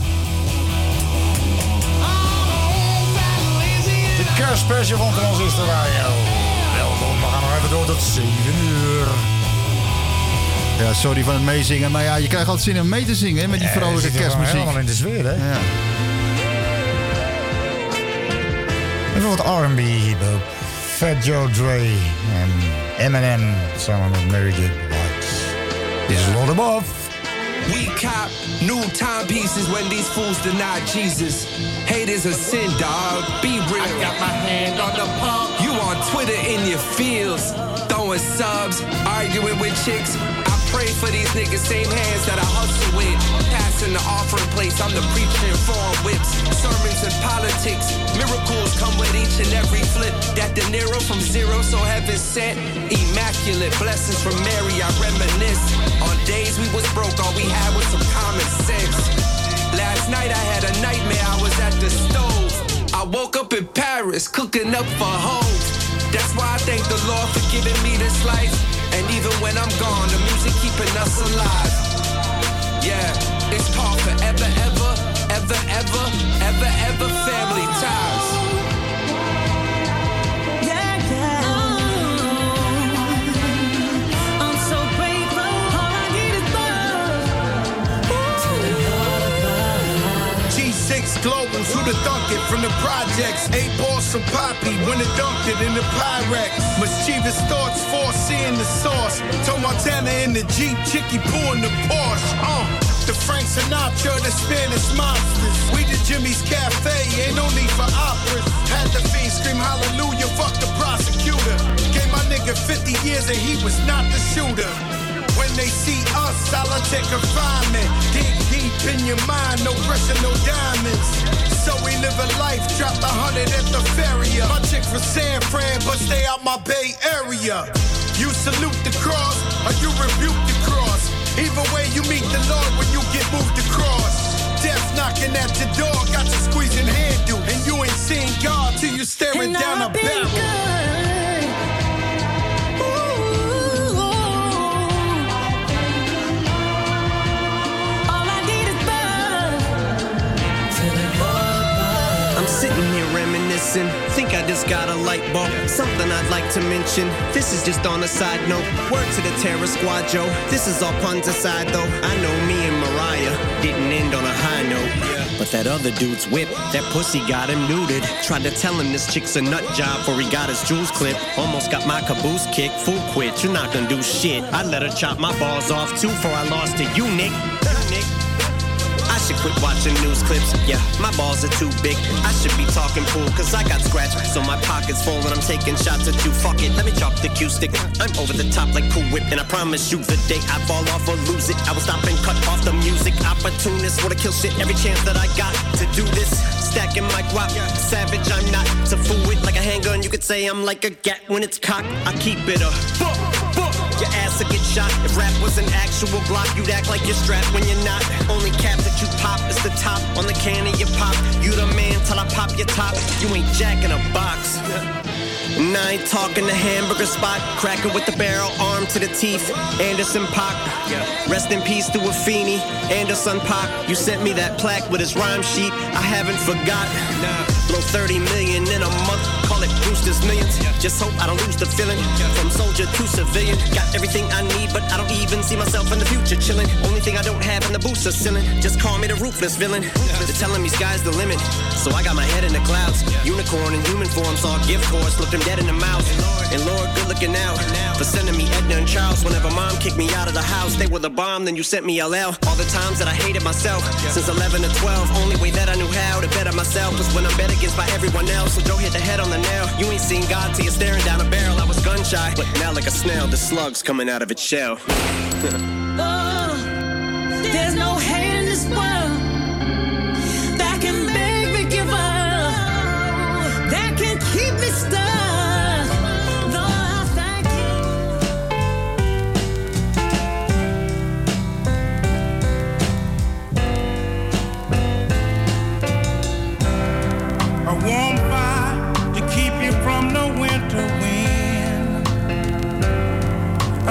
De kerstspecial van Transistor Radio. Welkom, we gaan nog even door tot zeven uur. Ja, sorry van het meezingen, maar ja, je krijgt altijd zin om mee te zingen hè, met die Ja, vrolijke je zit er gewoon kerstmuziek. helemaal in de sfeer, hè? Ja. Even wat R and B, hip-hop. Fat Joe Dre en Eminem samen met Mary J. Blige. This is Lord Above. We cop new timepieces when these fools deny Jesus. Hate is a sin, dog. Be real. I got my hand on the pump. You on Twitter in your feels, throwing subs, arguing with chicks. I pray for these niggas, same hands that I hustle with. Passing the offering place, I'm the preacher in foreign whips. Sermons and politics, miracles come with each and every flip. That De Niro from zero, so heaven sent. Immaculate blessings from Mary, I reminisce. On days we was broke, all we had was some common sense. Last night I had a nightmare, I was at the stove. I woke up in Paris, cooking up for hoes. That's why I thank the Lord for giving me this life. And even when I'm gone, the music keeping us alive. Yeah, it's called forever, ever, ever, ever, ever, ever family ties. Yeah, yeah. I'm so grateful. All I need is love. G six Globals, who the thunk it from the projects. Eight balls from Poppy, when it dunked it in the Pyrex. Mischievous thoughts, foreseeing the sauce. Toe Montana in the Jeep, Chicky Poo in the Porsche. Uh, the Frank Sinatra, the Spanish monsters. We the Jimmy's Cafe, ain't no need for operas. Had the fiend scream hallelujah, fuck the prosecutor. Gave my nigga fifty years and he was not the shooter. When they see us, solitary confinement. Dig deep in your mind, no pressure, no diamonds. So we live a life, drop a hundred at the ferry. My chick from San Fran, but stay out my Bay Area. You salute the cross, or you rebuke the cross. Either way, you meet the Lord when you get moved across. Death knocking at your door, got you squeezing handle. And you ain't seen God till you staring And down a I've been barrel. good. Ooh, all I need is love. I'm sitting here reminiscing. Think I just got a light bulb. Something I'd like to mention. This is just on a side note. Word to the Terror Squad, Joe. This is all puns aside, though. I know me and Mariah didn't end on a high note. But that other dude's whip, that pussy got him neutered. Tried to tell him this chick's a nut job before he got his jewels clipped. Almost got my caboose kicked. Fool quit, you're not gonna do shit. I let her chop my balls off too before I lost to you, Nick. Nick. I should quit watching news clips. Yeah, my balls are too big. I should be talking pool, cause I got scratched. So my pocket's full and I'm taking shots at you. Fuck it, let me chalk the cue stick. I'm over the top like Cool Whip. And I promise you the day I fall off or lose it, I will stop and cut off the music. Opportunist, wanna kill shit every chance that I got to do this. Stacking my guap, savage, I'm not to fool with. Like a handgun, you could say I'm like a gat when it's cocked. I keep it a fuck, fuck. Your ass will get shot. If rap was an actual Glock, you'd act like you're strapped when you're not. Only cap that you pop is the top on the can of your pop. You the man till I pop your top. You ain't jacking a box. And I ain't talking the hamburger spot. Cracker with the barrel, arm to the teeth. Anderson Paak. Rest in peace to Afeni. Anderson Paak. You sent me that plaque with his rhyme sheet. I haven't forgot. Blow thirty million in a month. Call it Brewster's Millions. Just hope I don't lose the feeling. From soldier to civilian. Got everything I need, but I don't even see myself in the future chilling. Only thing I don't have in the boots is ceiling. Just call me the ruthless villain. They're telling me sky's the limit. So I got my head in the clouds. Unicorn in human form, saw a gift course. Looked him dead in the mouth. And Lord, good looking out. For sending me Edna and Charles. Whenever mom kicked me out of the house, they were the bomb, then you sent me L L. All the times that I hated myself. Since eleven to twelve, only way that I knew how to better myself was when I'm bet against by everyone else. So Joe hit the head on the nail. You ain't seen God till you're staring down a barrel. I was gun shy, but now like a snail, the slug's coming out of its shell. Oh, there's no hate in this world that can make me give up, that can keep me stuck. Lord, I thank A warm fire to keep you from the winter wind.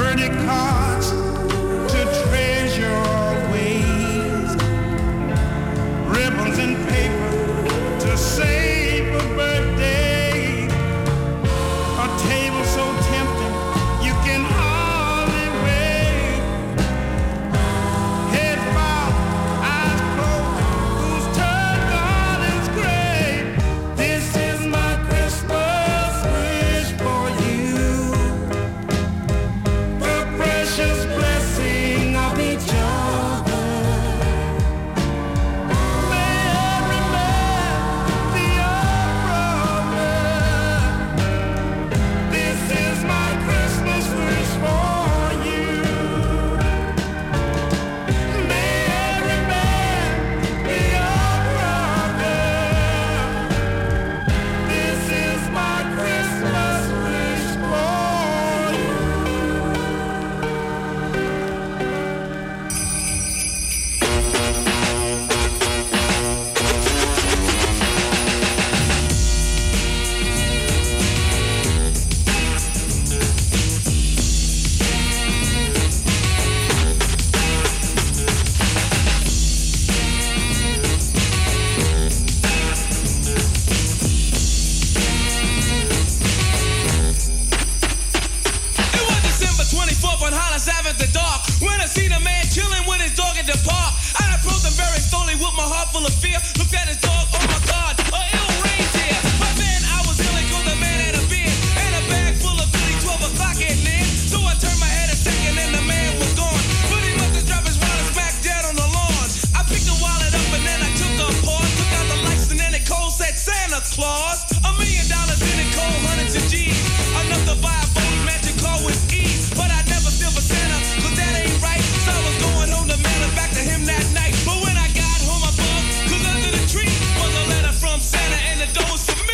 birthday cards to treasure ways, ribbons and paper to save a birthday, a table so tempting you can hardly wait. Head bowed, eyes closed, whose turn garden's great. This is my Christmas wish for you. The precious blessing of each other. May every man be your brother. This is my Christmas wish for you. May every man be your brother. This is my Christmas wish for you. It was December twenty-fourth on Hollis Ave at the dark when I seen a man chilling with his dog at the park. I approached him very slowly with my heart full of fear. Looked at his dog, oh my God, a ill reindeer. But then I was ill because the man had a beard and a bag full of goodies. Twelve o'clock at near, so I turned my head a second and the man was gone. But he must have dropped his wallet smack dead on the lawn. I picked the wallet up and then I took a pause, took out the lights and then it cold said Santa Claus. A million dollars in it, cold hundreds of G's, enough to buy a boat magic car with ease. But I never steal for Santa, cause that ain't right. So I was going home to mail it back to him that night. But when I got home I bugged, cause under the tree was a letter from Santa and the door was for me.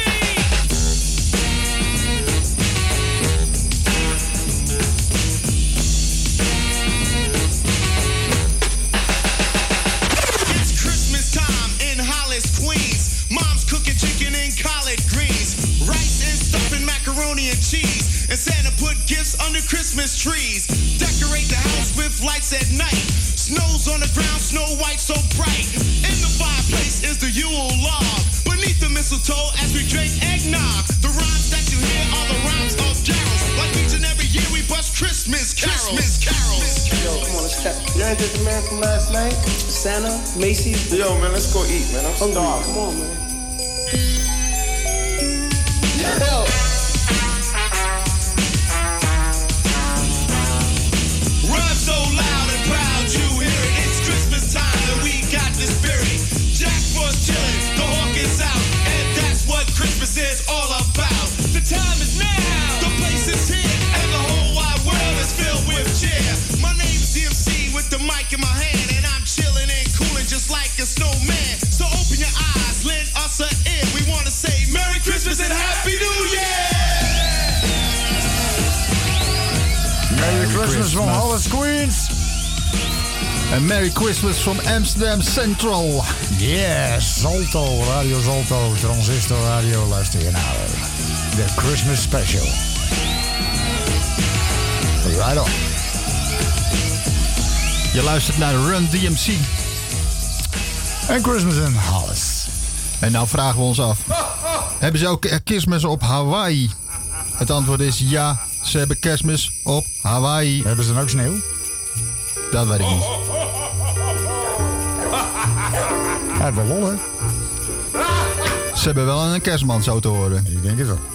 It's Christmas time in Hollis, Queens. Mom's cooking chicken and collard greens, rice and stuffing macaroni and cheese, and Santa put gifts under Christmas trees. Decorate the house with lights at night. Snow's on the ground, snow white so bright. In the fireplace is the Yule log. Beneath the mistletoe as we drink eggnog. The rhymes that you hear are the rhymes of carols. Like each and every year we bust Christmas carols. Christmas carols. Yo, come on, let's check. You ain't just the man from last night? Santa, Macy's. Yo, man, let's go eat, man. I'm starving. Come on, man. Yo. Run so loud and proud you hear it. It's Christmas time and we got the spirit. Jack Frost chillin', the hawk is out, and that's what Christmas is all about. The time is now, the place is here, and the whole wide world is filled with cheer. My name's D M C with the mic in my hand, and I'm chillin' and coolin' just like a snowman. So open your eyes, lend us an ear. We wanna say Merry Christmas and Happy New Year! Merry Christmas from Hollis, Queens. En Merry Christmas from Amsterdam Central. Yes, Zalto, Radio Zalto, Transistor Radio, luister je naar de Christmas Special. Right on. Je luistert naar Run D M C. En Christmas in Hollis. En nou vragen we ons af. Hebben ze ook kerstmis op Hawaii? Het antwoord is ja, ze hebben kerstmis op Hawaii. Hebben ze dan ook sneeuw? Dat weet ik niet. Ja, wel lol, hè? Ze hebben wel een kerstman, zo te horen. Ik denk het wel.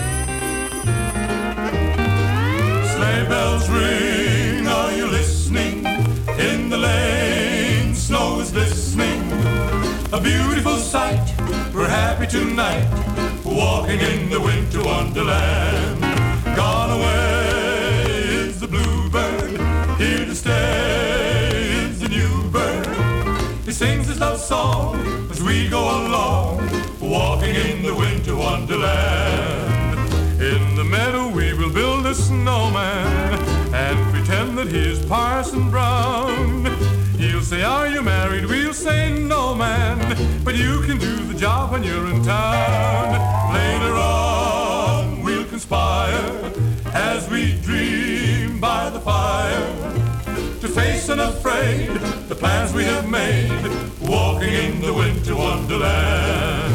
Sleigh bells ring, are you listening? In the lane, snow is glistening. A beautiful sight, we're happy tonight. Walking in the winter wonderland. Gone away is the bluebird, here to stay is the new bird. He sings his love song as we go along, walking in the winter wonderland. In the meadow we will build a snowman and pretend that he is Parson Brown. He'll say, are you married? We'll say, no, man, but you can do the job when you're in town. Later on we'll conspire as we dream dream by the fire, to face unafraid the plans we have made, walking in the winter wonderland.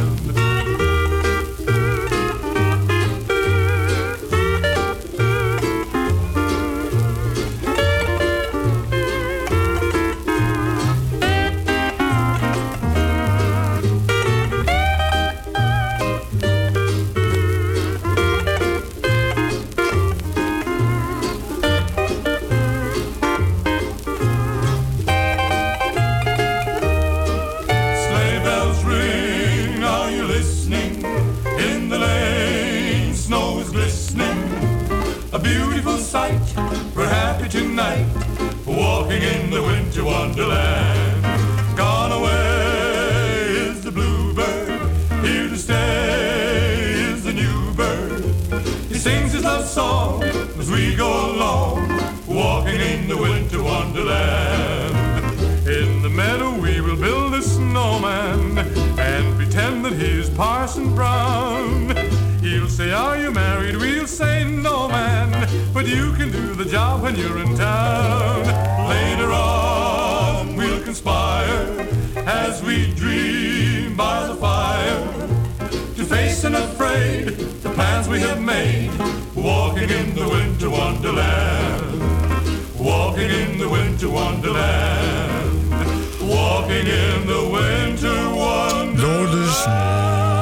We're happy tonight, walking in the winter wonderland. Gone away is the bluebird, here to stay is the new bird. He sings his love song as we go along, walking in the winter wonderland. In the meadow we will build a snowman and pretend that he's Parson Brown. He'll say, are you married? We'll say, no, man, but you can do the job when you're in town. Later on, we'll conspire as we dream by the fire, to face unafraid the plans we have made, walking in the winter wonderland. Walking in the winter wonderland. Walking in the winter wonderland. Door de sneeuw.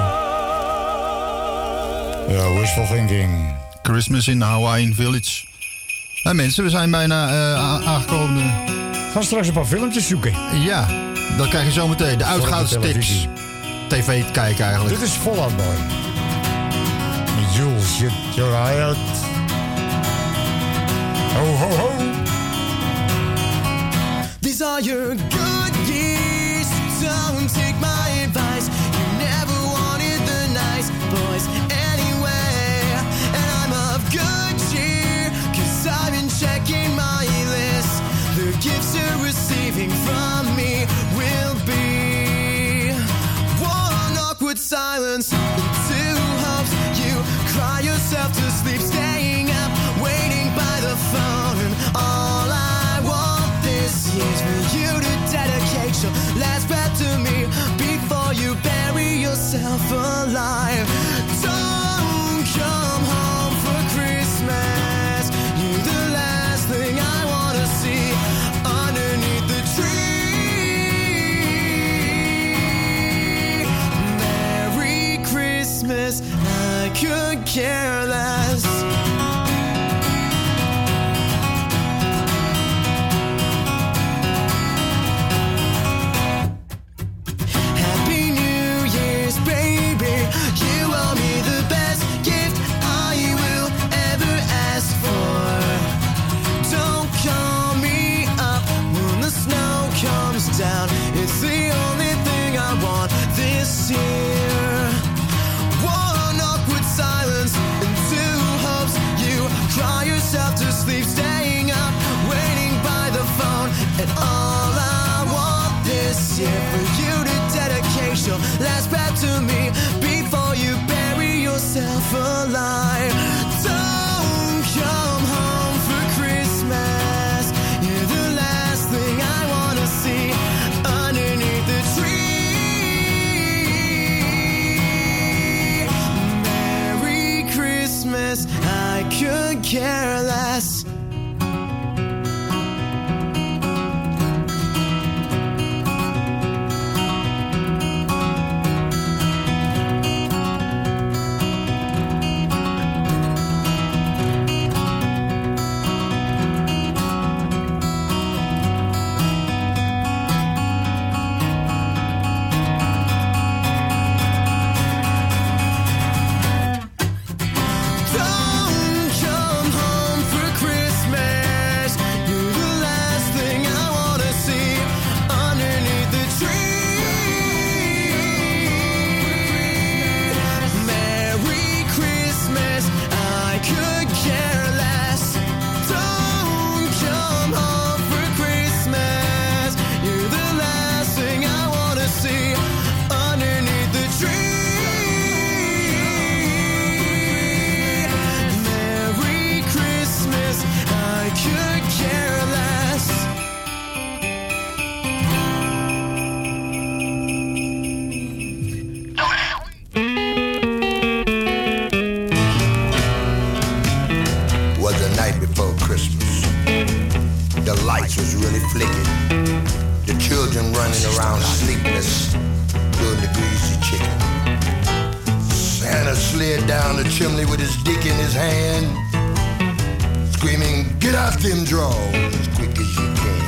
Ja, wishful thinking. Christmas in Hawaiian Village. Nou mensen, we zijn bijna uh, aangekomen. Gaan straks een paar filmpjes zoeken. Ja, dat krijg je zo meteen. De uitgaanstips. T V te kijken eigenlijk. Dit is Fallout Boy. Jules, shut your eye out. Ho, ho, ho. These are your good years. Don't take my advice. You never wanted the nice boys anyway. And I'm of good cheer, cause I've been checking my list. The gifts you're receiving from me will be one awkward silence and two hopes. You cry yourself to sleep, staying up, waiting by the phone. And all I want this year's for you to dedicate running around sleepless, doing the greasy chicken. Santa slid down the chimney with his dick in his hand, screaming, "Get out them drawers as quick as you can."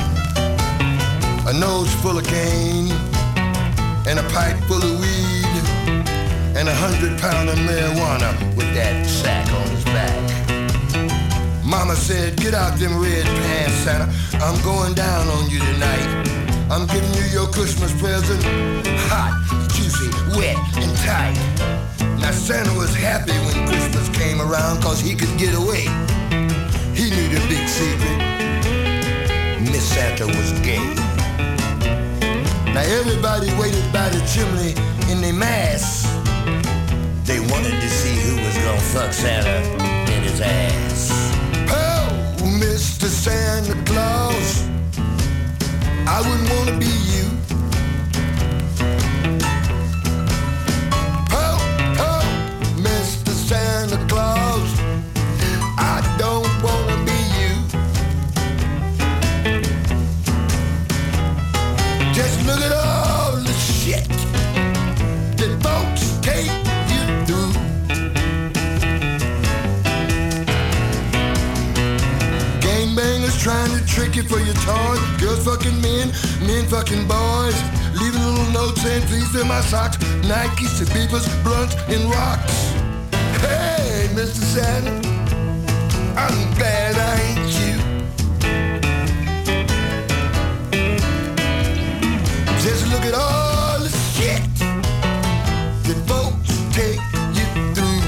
A nose full of cane, and a pipe full of weed, and a hundred pound of marijuana with that sack on his back. Mama said, "Get out them red pants, Santa. I'm going down on you tonight. I'm giving you your Christmas present, hot, juicy, wet, and tight." Now Santa was happy when Christmas came around cause he could get away. He knew the big secret. Miss Santa was gay. Now everybody waited by the chimney in their masks. They wanted to see who was gonna fuck Santa in his ass. Oh, Mister Santa Claus, I wouldn't wanna be you. Oh, oh, Mister Santa Claus, I don't wanna be you. Just look at all the shit that folks take you through. Gangbangers trying to trick you for your toys. Girls fucking men, men fucking boys. Leaving little notes saying, "Please fill my socks." Nikes, beepers, blunts, and rocks. Hey, Mister Santa, I'm glad I ain't you. Just look at all the shit that folks take you through.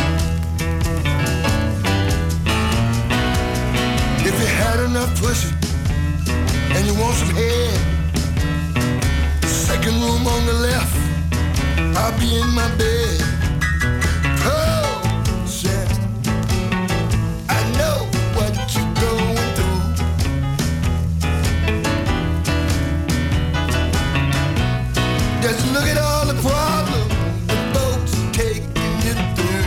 If you had enough pussy and you want some head, second room on the left, I'll be in my bed. Oh, Santa, I know what you're going through. Just look at all the problems the folks taking you through.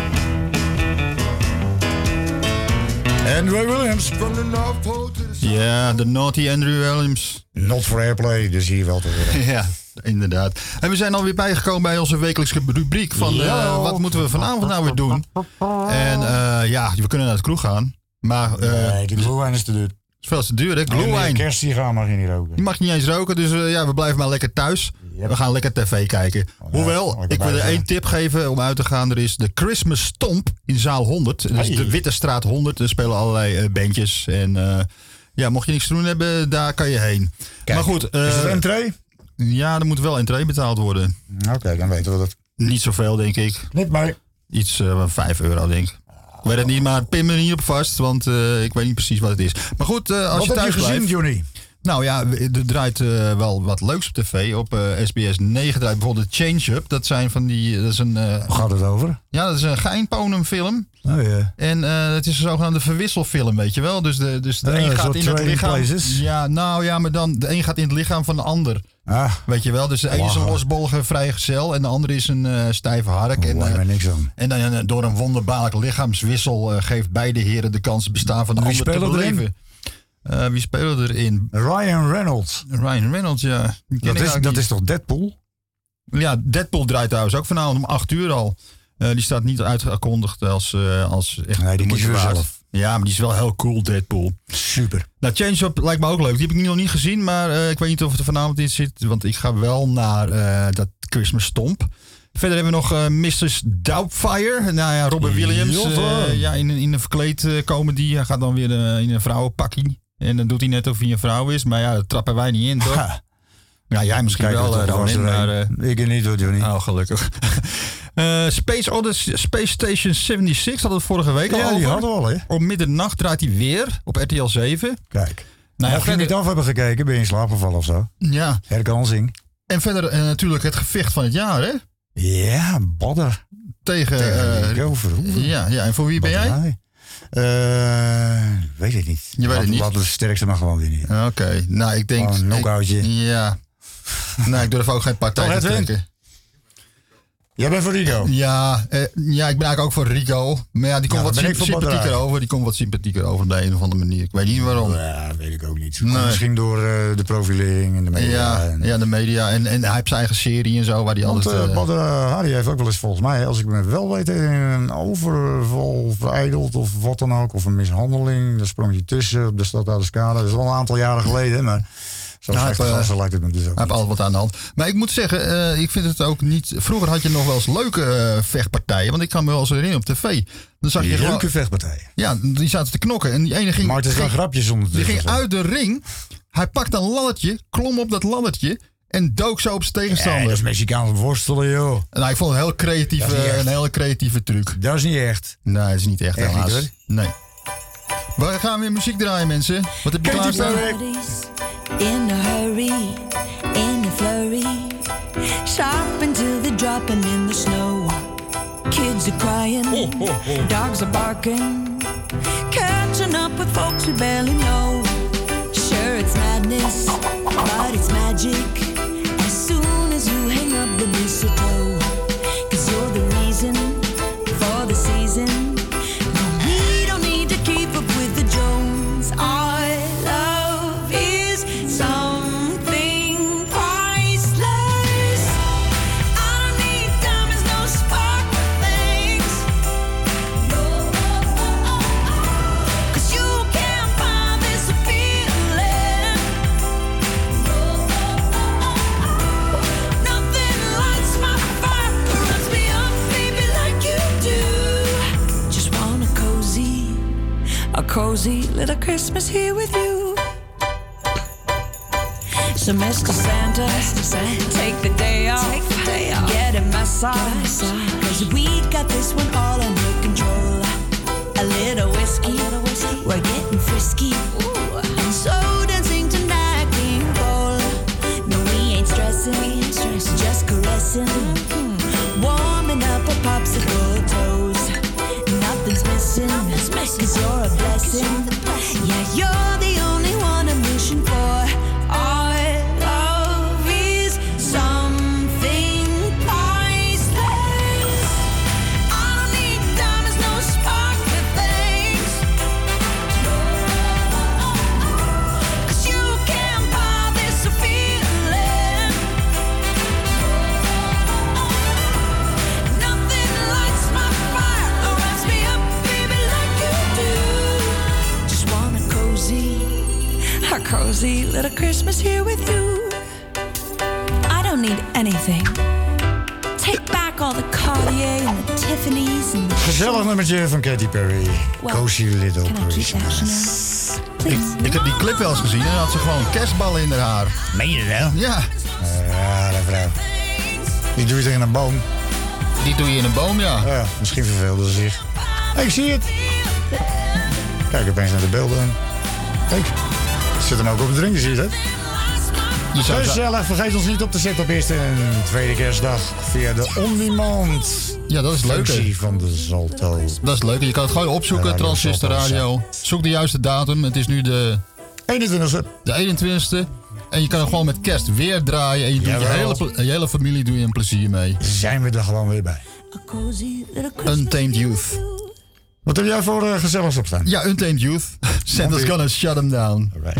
Andrew Williams. From the North Pole to the Ja, de naughty Andrew Williams. Not for airplay, dus hier wel te horen. Ja, inderdaad. En we zijn alweer bijgekomen bij onze wekelijkse rubriek van uh, wat moeten we vanavond nou weer doen. En uh, ja, we kunnen naar de kroeg gaan. Maar, uh, nee, de glühwein is te duur. Is veel te duur, hè? Glühwein. Kerstsigaar mag je niet roken. Die mag je niet eens roken, dus uh, ja, we blijven maar lekker thuis. Yep. We gaan lekker tv kijken. Oh, ja, Hoewel, ik wil er één tip geven om uit te gaan. Er is de Christmas Stomp in zaal honderd. Dat is de Witte Straat honderd. Er spelen allerlei uh, bandjes. En uh, ja, mocht je niks te doen hebben, daar kan je heen. Kijk, maar goed. Uh, is het entree? Ja, er moet wel entree betaald worden. Oké, okay, dan weten we dat. Niet zoveel, denk ik. Niet maar. Iets van uh, vijf euro, denk ik. Ik weet het niet, maar pin me er niet op vast, want uh, ik weet niet precies wat het is. Maar goed, uh, als wat je thuis heb je blijft... gezien, Johnny? Nou ja, er draait uh, wel wat leuks op tv. Op uh, S B S negen draait bijvoorbeeld Change-Up. Dat zijn van die... Dat is een, uh, Hoe gaat het over? Ja, dat is een geinponumfilm. Oh ja. En uh, het is een zogenaamde verwisselfilm, weet je wel. Dus de, dus de uh, een gaat in het lichaam... Places. Ja, nou ja, maar dan de een gaat in het lichaam van de ander. Ah. Weet je wel, dus de een is een losbollige vrijgezel en de andere is een uh, stijve hark. Oh, en, uh, niks aan. en dan uh, door een wonderbaarlijk lichaamswissel uh, geeft beide heren de kans bestaan van de ander te beleven. Uh, wie speelde erin? Ryan Reynolds. Ryan Reynolds, ja. Dat is, dat is toch Deadpool? Ja, Deadpool draait trouwens ook vanavond om acht uur al. Uh, die staat niet uitgekondigd als, uh, als echt... Nee, die kiezen we zelf. Ja, maar die is wel heel cool, Deadpool. Super. Nou, Change-Up lijkt me ook leuk. Die heb ik nog niet gezien, maar uh, ik weet niet of het er vanavond in zit. Want ik ga wel naar uh, dat Christmas Stomp. Verder hebben we nog uh, missus Doubtfire. Nou ja, Robin Williams. Uh, ja, in, in een verkleed uh, comedy. Hij gaat dan weer uh, in een vrouwenpakkie. En dan doet hij net of hij een vrouw is. Maar ja, dat trappen wij niet in, toch? Ha. Ja, jij misschien Kijk, wel, uh, Ronin. Maar, uh, ik niet, hoor, Johnny. Oh, gelukkig. uh, Space Odyssey, Space Station zevenenzeventig hadden we vorige week al ja, over. die hadden we al, hè? Om middernacht draait hij weer op R T L zeven. Kijk. Nou, Mocht je niet af hebben gekeken, ben je in slaap gevallen of zo? Ja. Herkansing. En verder uh, natuurlijk het gevecht van het jaar, hè? Ja, Badder. Tegen... Tegen uh, Verhoeven. Ja, ja, en voor wie ben jij? Uh, weet ik niet. Je weet het niet? Wat de sterkste mag gewoon winnen. Oké, okay. Nou ik denk... Oh, een knockoutje. Ja. Nou, ik durf ook geen partij te trekken. Jij bent voor Rico? Ja, eh, ja, ik ben eigenlijk ook voor Rico. Maar ja, die komt Ja, wat dan ben ik symp- voor sympathieker Badrij. over. Die komt wat sympathieker over op de een of andere manier. Ik weet niet waarom. Ja, weet ik ook niet. Nee. Misschien door uh, de profilering en de media. Ja, en, ja, de media. En, en hij heeft zijn eigen serie en zo, waar hij Want altijd... uh, Uh, Badr Hari heeft ook wel eens volgens mij, als ik me wel weet, in een overval vereideld of wat dan ook. Of een mishandeling. Daar sprong hij tussen op de stad Oudeschade. Dat is al een aantal jaren geleden, maar... Zo Nou, slecht hij heeft, gasten lijkt het me dus ook. Hij heeft altijd wat aan de hand. Maar ik moet zeggen, uh, ik vind het ook niet... Vroeger had je nog wel eens leuke uh, vechtpartijen. Want ik kan me wel eens herinneren op tv. Dan zag je Die gewoon, leuke vechtpartijen. Ja, die zaten te knokken. En die ene ging... Maar het is wel ging, grapjes ondertussen. Die ging zo. uit de ring. Hij pakte een laddertje, klom op dat laddertje... En dook zo op zijn tegenstander. Ja, dat is Mexicaans worstelen, joh. Nou, ik vond het een heel creatieve, een hele creatieve truc. Dat is niet echt. Nee, dat is niet echt, Echt helaas. niet, nee. We gaan weer muziek draaien, mensen. Wat heb je klaarstaan? In a hurry, in a flurry, sharp until they're dropping in the snow. Kids are crying, dogs are barking, catching up with folks we barely know. Sure, it's madness, but it's magic. As soon as you hang up the mistletoe, 'cause you're the reason for the season. We don't need to keep up with the Jones. Our love is something priceless. I don't need diamonds, no sparkle things. No, oh, oh, oh. 'Cause you can't buy this feeling. No, oh, oh, oh. Nothing lights my fire, runs me up, baby, like you do. Just want a cozy, a cozy little Christmas here with you. So Mister Santa, take the day off, get a massage, 'cause we got this one all under control. A little whiskey, we're getting frisky, and so dancing tonight, King Cole. No, we ain't stressing, just caressing, warming up our popsicle toes. Nothing's missing, 'cause you're a blessing. Yeah, you're the only one I'm wishing for. Our love is something priceless. I don't need diamonds, no sparkly things. 'Cause you can't buy this feeling. Nothing lights my fire or wraps me up, baby, like you do. Just want a cozy, a cozy little Christmas here with you. I don't need anything. Take back all the Cartier and the Tiffany's and the Gezellig nummertje van Katy Perry. Well, Cozy Little can I keep Christmas. that, Ik, ik heb die clip wel eens gezien en dan had ze gewoon kerstballen in haar haar. Meen je dat? Ja. Ja, dat vrouw. Die doe je tegen een boom. Die doe je in een boom, ja. Ja, misschien verveelde ze zich. Hey, ik zie het. Kijk opeens naar de beelden. Kijk, zit hem ook op de drink, zie je dat? Je zou- Gezellig, vergeet ons niet op te zetten op eerste en tweede kerstdag via de on-demand Ja, dat is leuk, hè? functie van de Zalto. Dat is leuk. Je kan het gewoon opzoeken, Radio Transistor Salto. Radio. Zoek de juiste datum. Het is nu de... eenentwintigste. De eenentwintigste. En je kan er gewoon met kerst weer draaien. En je doet je Jawel. hele, ple- je hele familie doe je een plezier mee. Zijn we er gewoon weer bij. a cozy little Christmas. Untamed Youth. Wat heb jij voor uh, gezelligs op staan? Ja, Untamed Youth. Santa's gonna shut them down. Alright.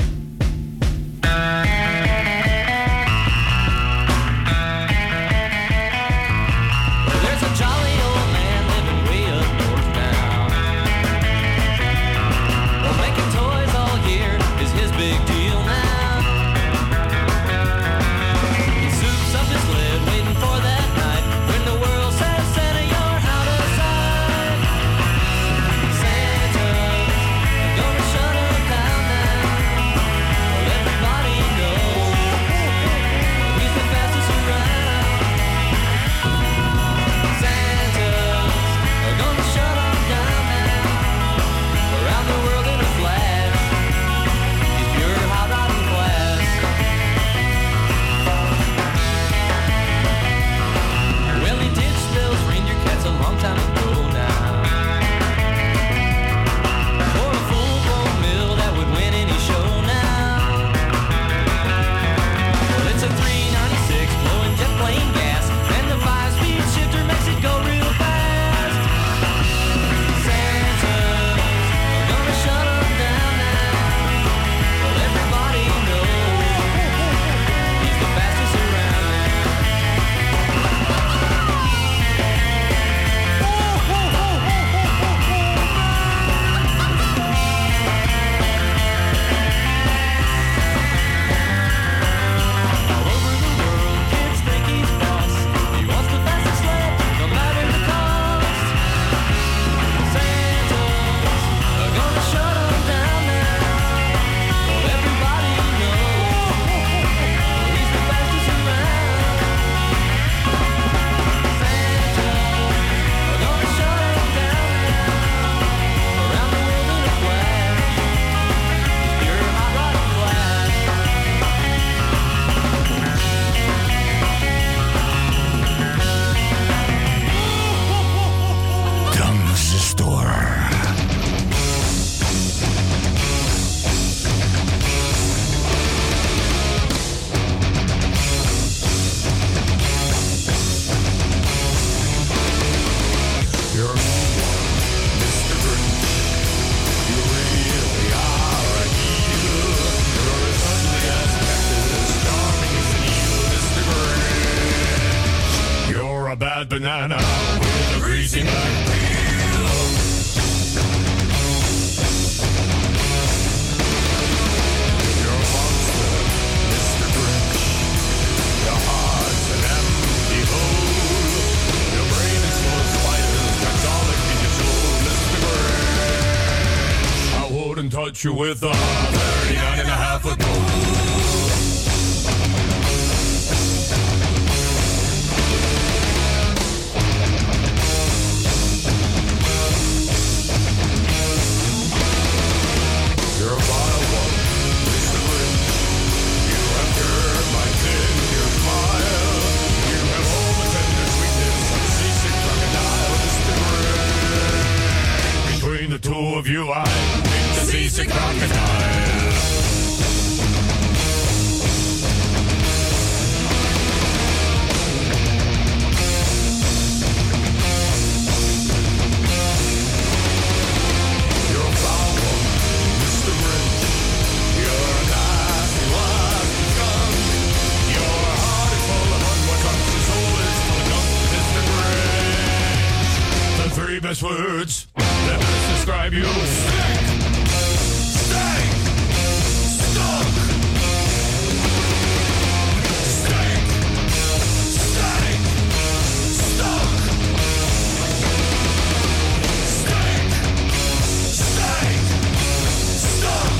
There's a jolly old man living way up north now. Well, making toys all year is his big deal now. He soups up his lid, waiting for that night when the world says, Santa, you're out of sight. Santa's gonna shut him down now. banana with a greasy black peel. You're a monster, Mister Grinch. Your heart's an empty hole. Your brain is full of spiders, garlic in your soul, Mister Grinch. I wouldn't touch you with a thirty-nine and a half of gold. You're a vile one, Mister Grinch. You have cured my tender smile. You have all the tender sweetness of a seasick crocodile, Mister Grinch. Between the two of you, I think the seasick crocodile. You're a foul one, Mister Grinch. You're a nasty, nasty skunk. Your heart is full of unworked trunks. Your soul is full of gunk, Mister Grinch. The three best words that best describe you: stink, stank, stunk. Stink, stank, stunk. Stink, stank, stunk.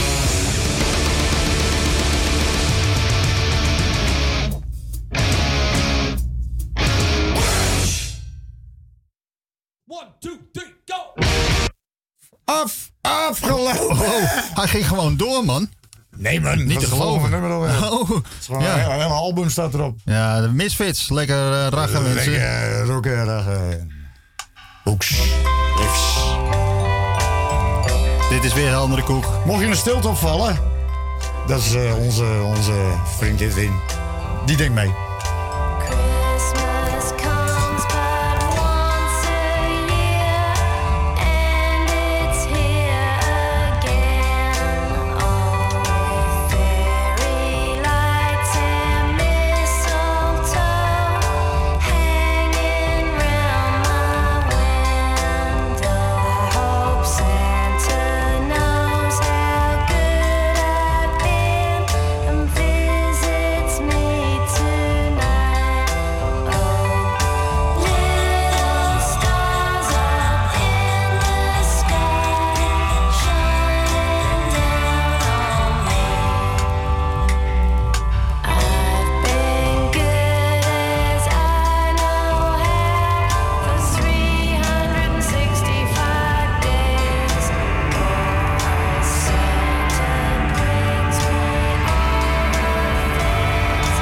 One, two, three, go! Af, afgelopen. Oh, hij ging gewoon door, man. Nee, man. Niet dat te is gewoon geloven. een nummer alweer. Oh, Het is gewoon ja. een, een hele album staat erop. Ja, de Misfits. Lekker uh, raggen, mensen. Lekker rocken, raggen. Hoeks, riffs. Dit is weer een andere koek. Mocht je een stilte opvallen, dat is uh, onze, onze vriend Edwin. Die denkt mee. Christmas comes but once a year, and it's here again. All with fairy lights and mistletoe hanging round my window. I hope Santa knows how good I've been and visits me tonight. Oh, little stars up in the sky, shining down on me. I've been good as I know how for three hundred sixty-five days. My Santa brings me all the things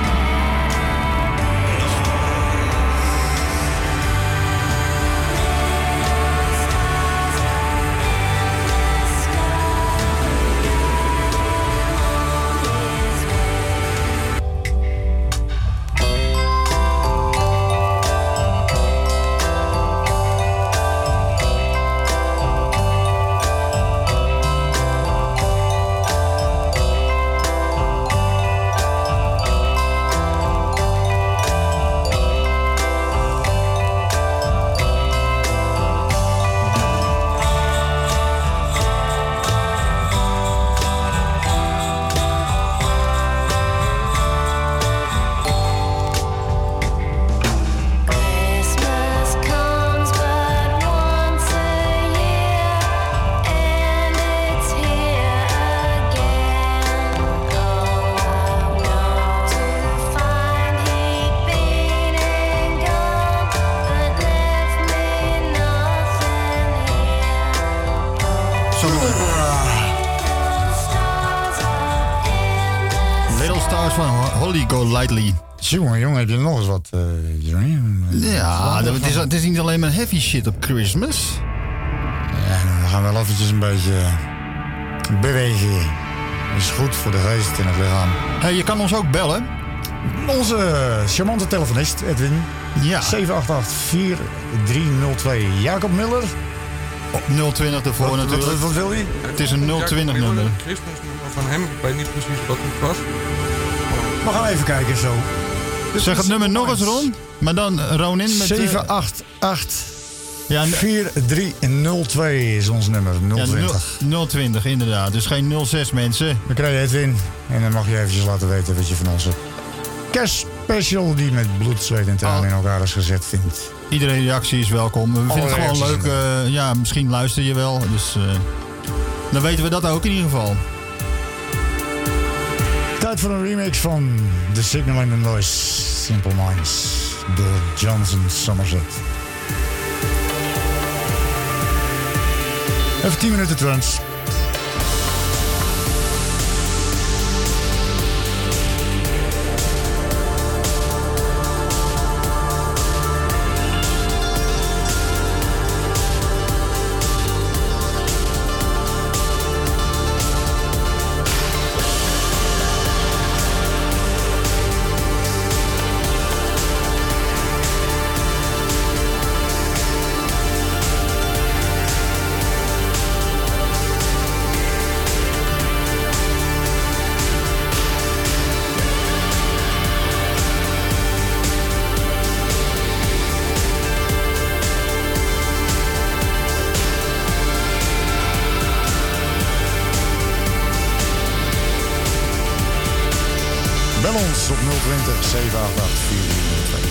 Christmas comes but once a year, and it's here again. Oh, I know to find he'd been and gone, but left me nothing here. Little Stars van Holly Golightly. Jongen, jongen, heb je nog eens wat, uh, Johnny? Ja, dat- het is, het is niet alleen maar heavy shit op Christmas. Ja, we gaan wel eventjes een beetje bewegen. Dat is goed voor de geest en het lichaam. Hey, je kan ons ook bellen. Onze charmante telefonist, Edwin. Ja. zeven acht acht vier drie nul twee. Jacob Miller. nul twintig ervoor Wat- natuurlijk. wat- wat wil hij? Het is een nul twintig nummer. Christmas nummer van hem. Ik weet niet precies wat het was. We gaan even kijken zo. Zeg het nummer nog eens, Ron. Maar dan Ronin met... zeven acht acht ja, vier drie nul twee is ons nummer. nul twintig. Ja, nul twintig, inderdaad. Dus geen nul zes, mensen. Dan krijg je Edwin. En dan mag je eventjes laten weten wat je van onze kerstspecial die met bloed, zweet en tranen in elkaar is gezet vindt. Iedere reactie is welkom. We Alle vinden het gewoon leuk. Uh, ja, misschien luister je wel. Dus uh, dan weten we dat ook in ieder geval. Tijd voor een remix van The Signal and the Noise, Simple Minds, door Johnson Somerset. Even tien minuten trance. Bel ons op nul twintig zeven acht acht vier drie nul twee.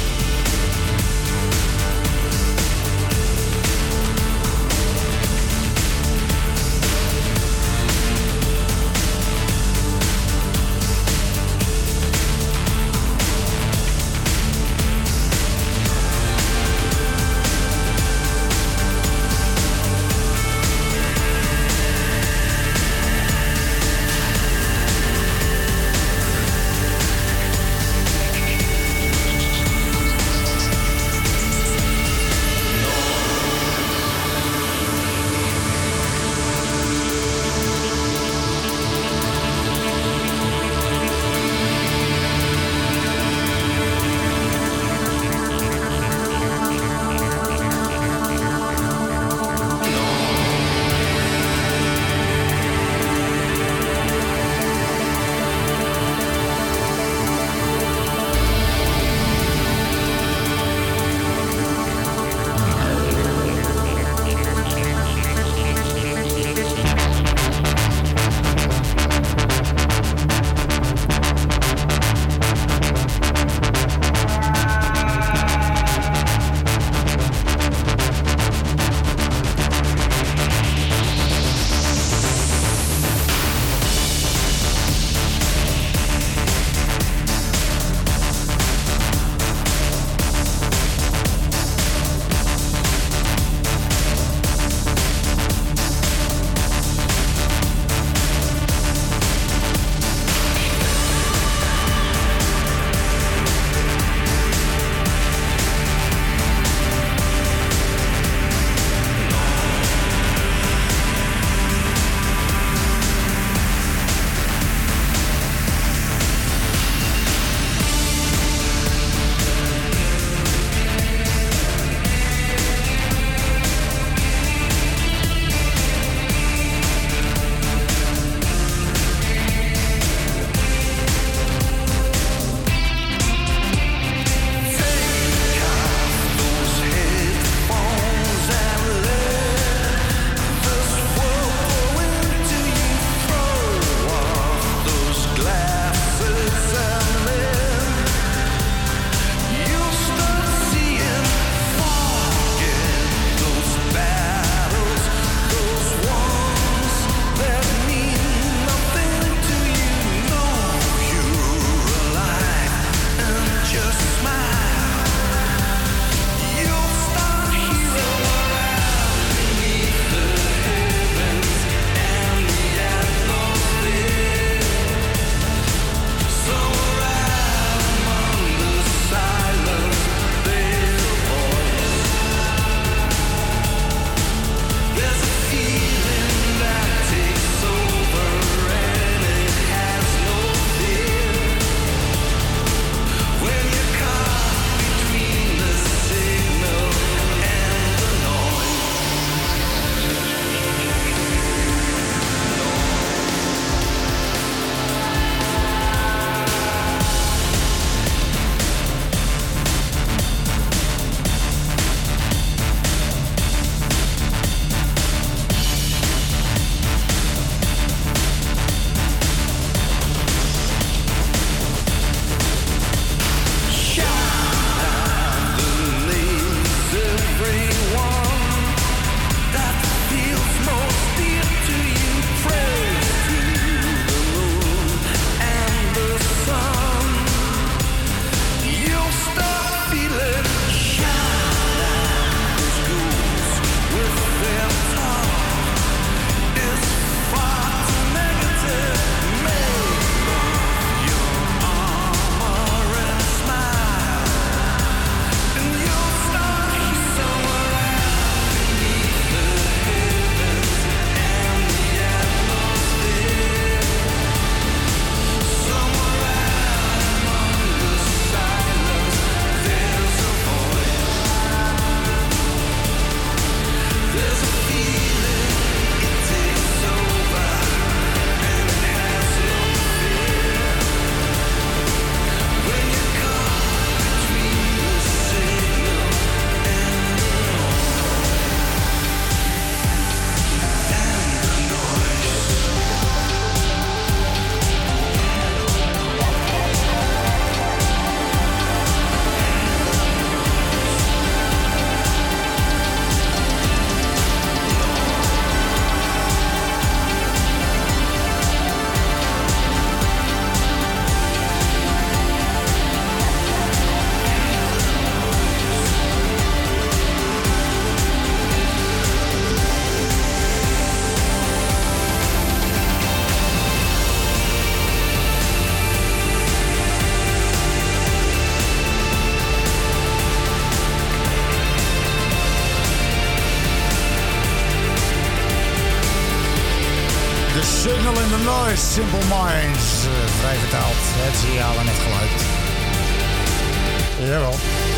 The Signal in the Noise, Simple Minds. Uh, vrij vertaald, het signaal en het geluid. Jawel.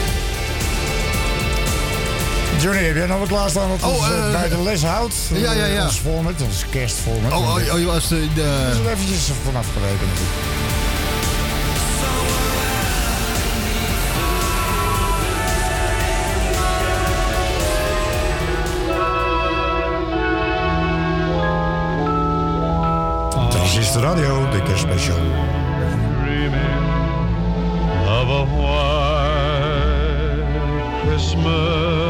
Johnny, heb jij nog wat klaarstaan wat ons oh, uh, bij de les houdt? Ja, ja, ja. Ons format, ons kerstformat. Oh, oh, oh, je was de... de... Dus er eventjes vanaf gerekend natuurlijk. Transistor Radio, de kerstspecial. Of a white Christmas.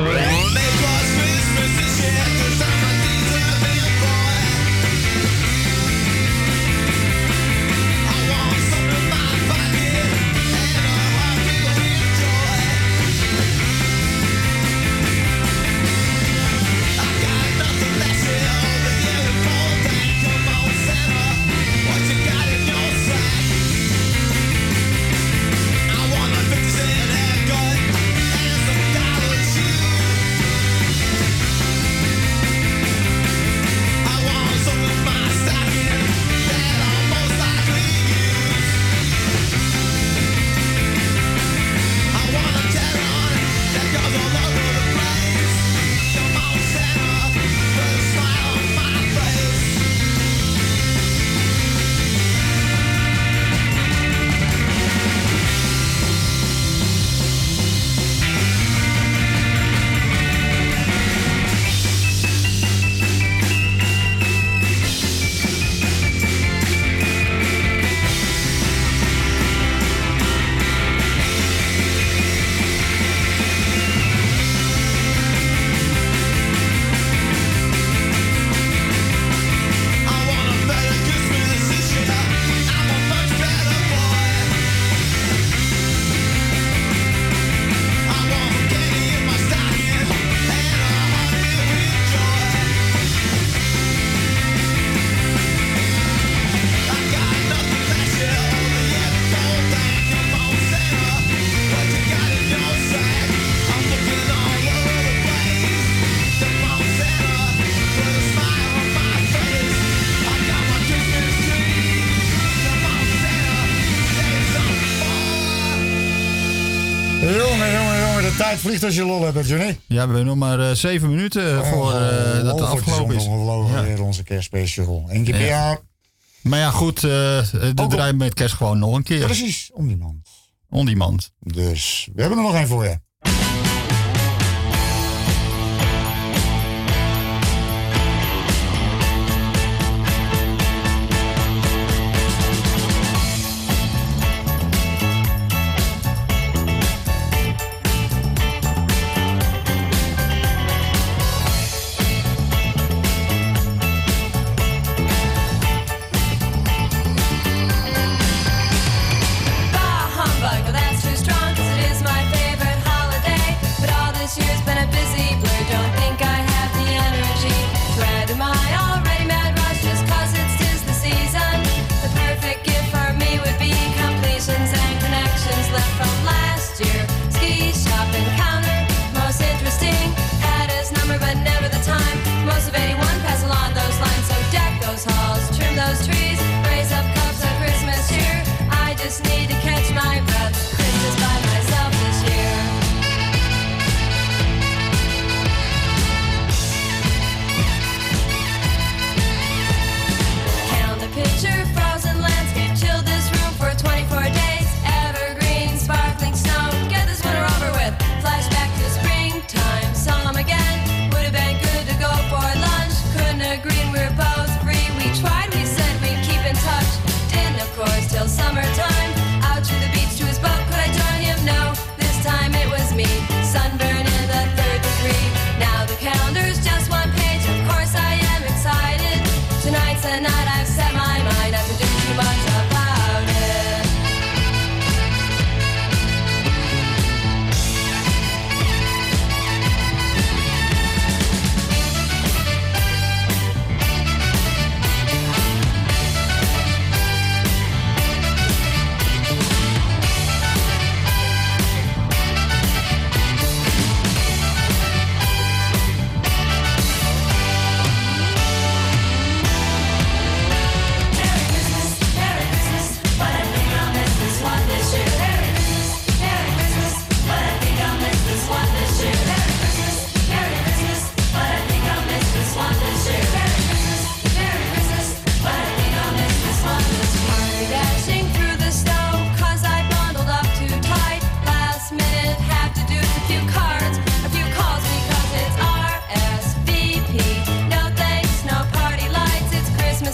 tijd vliegt als je lol hebt, Johnny. Ja, we hebben nog maar uh, zeven minuten oh, voor uh, dat het afgelopen is. We ja. weer onze kerstspecial. Eén keer per ja. jaar. Maar ja, goed, uh, de draaien met kerst gewoon nog een keer. Precies, on demand. On demand. Dus we hebben er nog één voor je.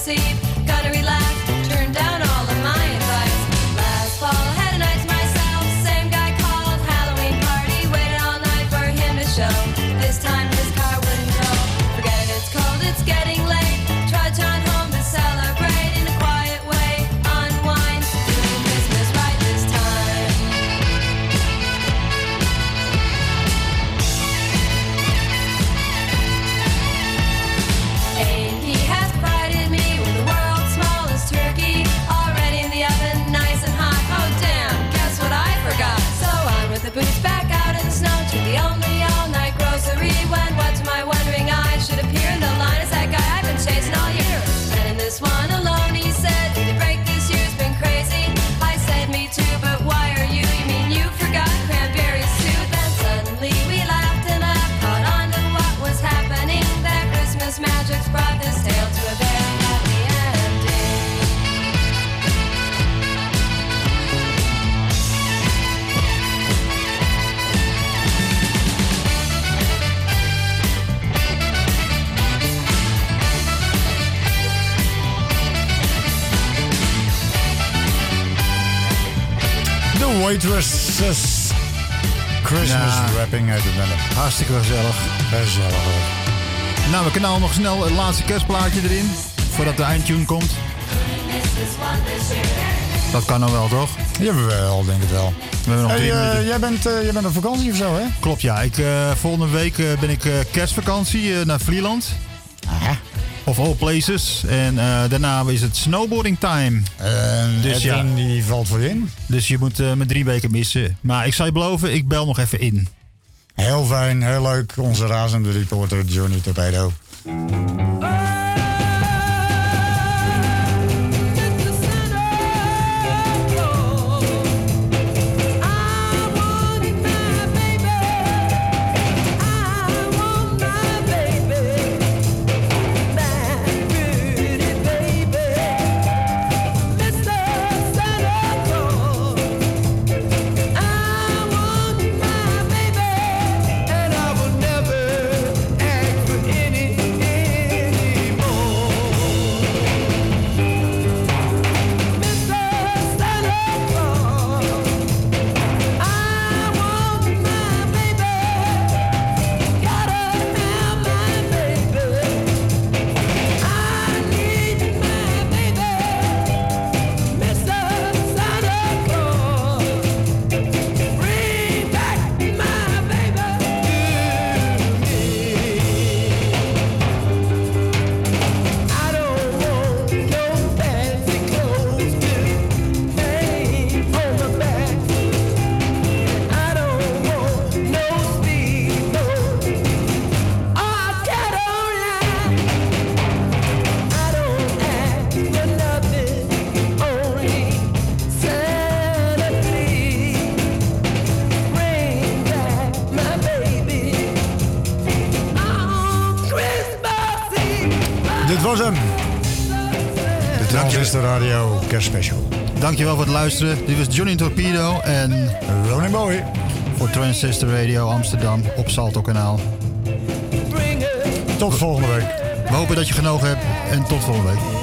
Eve. Gonna relax, turn down all of my advice. Last fall, I had a night to myself. Same guy called, Halloween party. Waited all night for him to show. This time his car wouldn't go. Forget it, it's cold, it's getting late. Trudge on home to celebrate in a quiet way. Unwind, doing Christmas right this time. A and P has provided me with the world's smallest turkey. Already in the oven, nice and hot. Oh damn, guess what I forgot? So on with the boots, back out in the snow to the only all-night grocery. When what to my wondering eyes should appear in the line is that guy I've been chasing all year. And in this one alone, he said, "Did the break this year's been crazy?" I said, "Me too, but why are you? You mean you forgot cranberries too?" Then suddenly we laughed and laughed, caught on to what was happening. That Christmas magic's brought this tale to a very happy ending. The Waitresses. Christmas Ja. wrapping uit het nummer. Hartstikke gezellig. Gezellig hoor. Nou, we knallen nog snel het laatste kerstplaatje erin. Voordat de eindtune komt. Dat kan nou wel, toch? Jawel, denk het wel. We hebben nog Hey, drie eh, minuten. jij, bent, eh, jij bent op vakantie of zo, hè? Klopt, ja. Ik, eh, volgende week eh, ben ik eh, kerstvakantie eh, naar Vlieland. Of all places. En eh, daarna is het snowboarding time. En dus ja, Edwin, die valt voor je in. dus je moet eh, me drie weken missen. Maar ik zal je beloven, ik bel nog even in. Heel fijn, heel leuk. Onze razende reporter Johnny Torpedo. Dit was hem. De Transistor Radio Kerstspecial. Dankjewel voor het luisteren. Dit was Johnny Torpedo en Ronnie Boy voor Transistor Radio Amsterdam op Salto Kanaal. Tot volgende week. We hopen dat je genoten hebt en tot volgende week.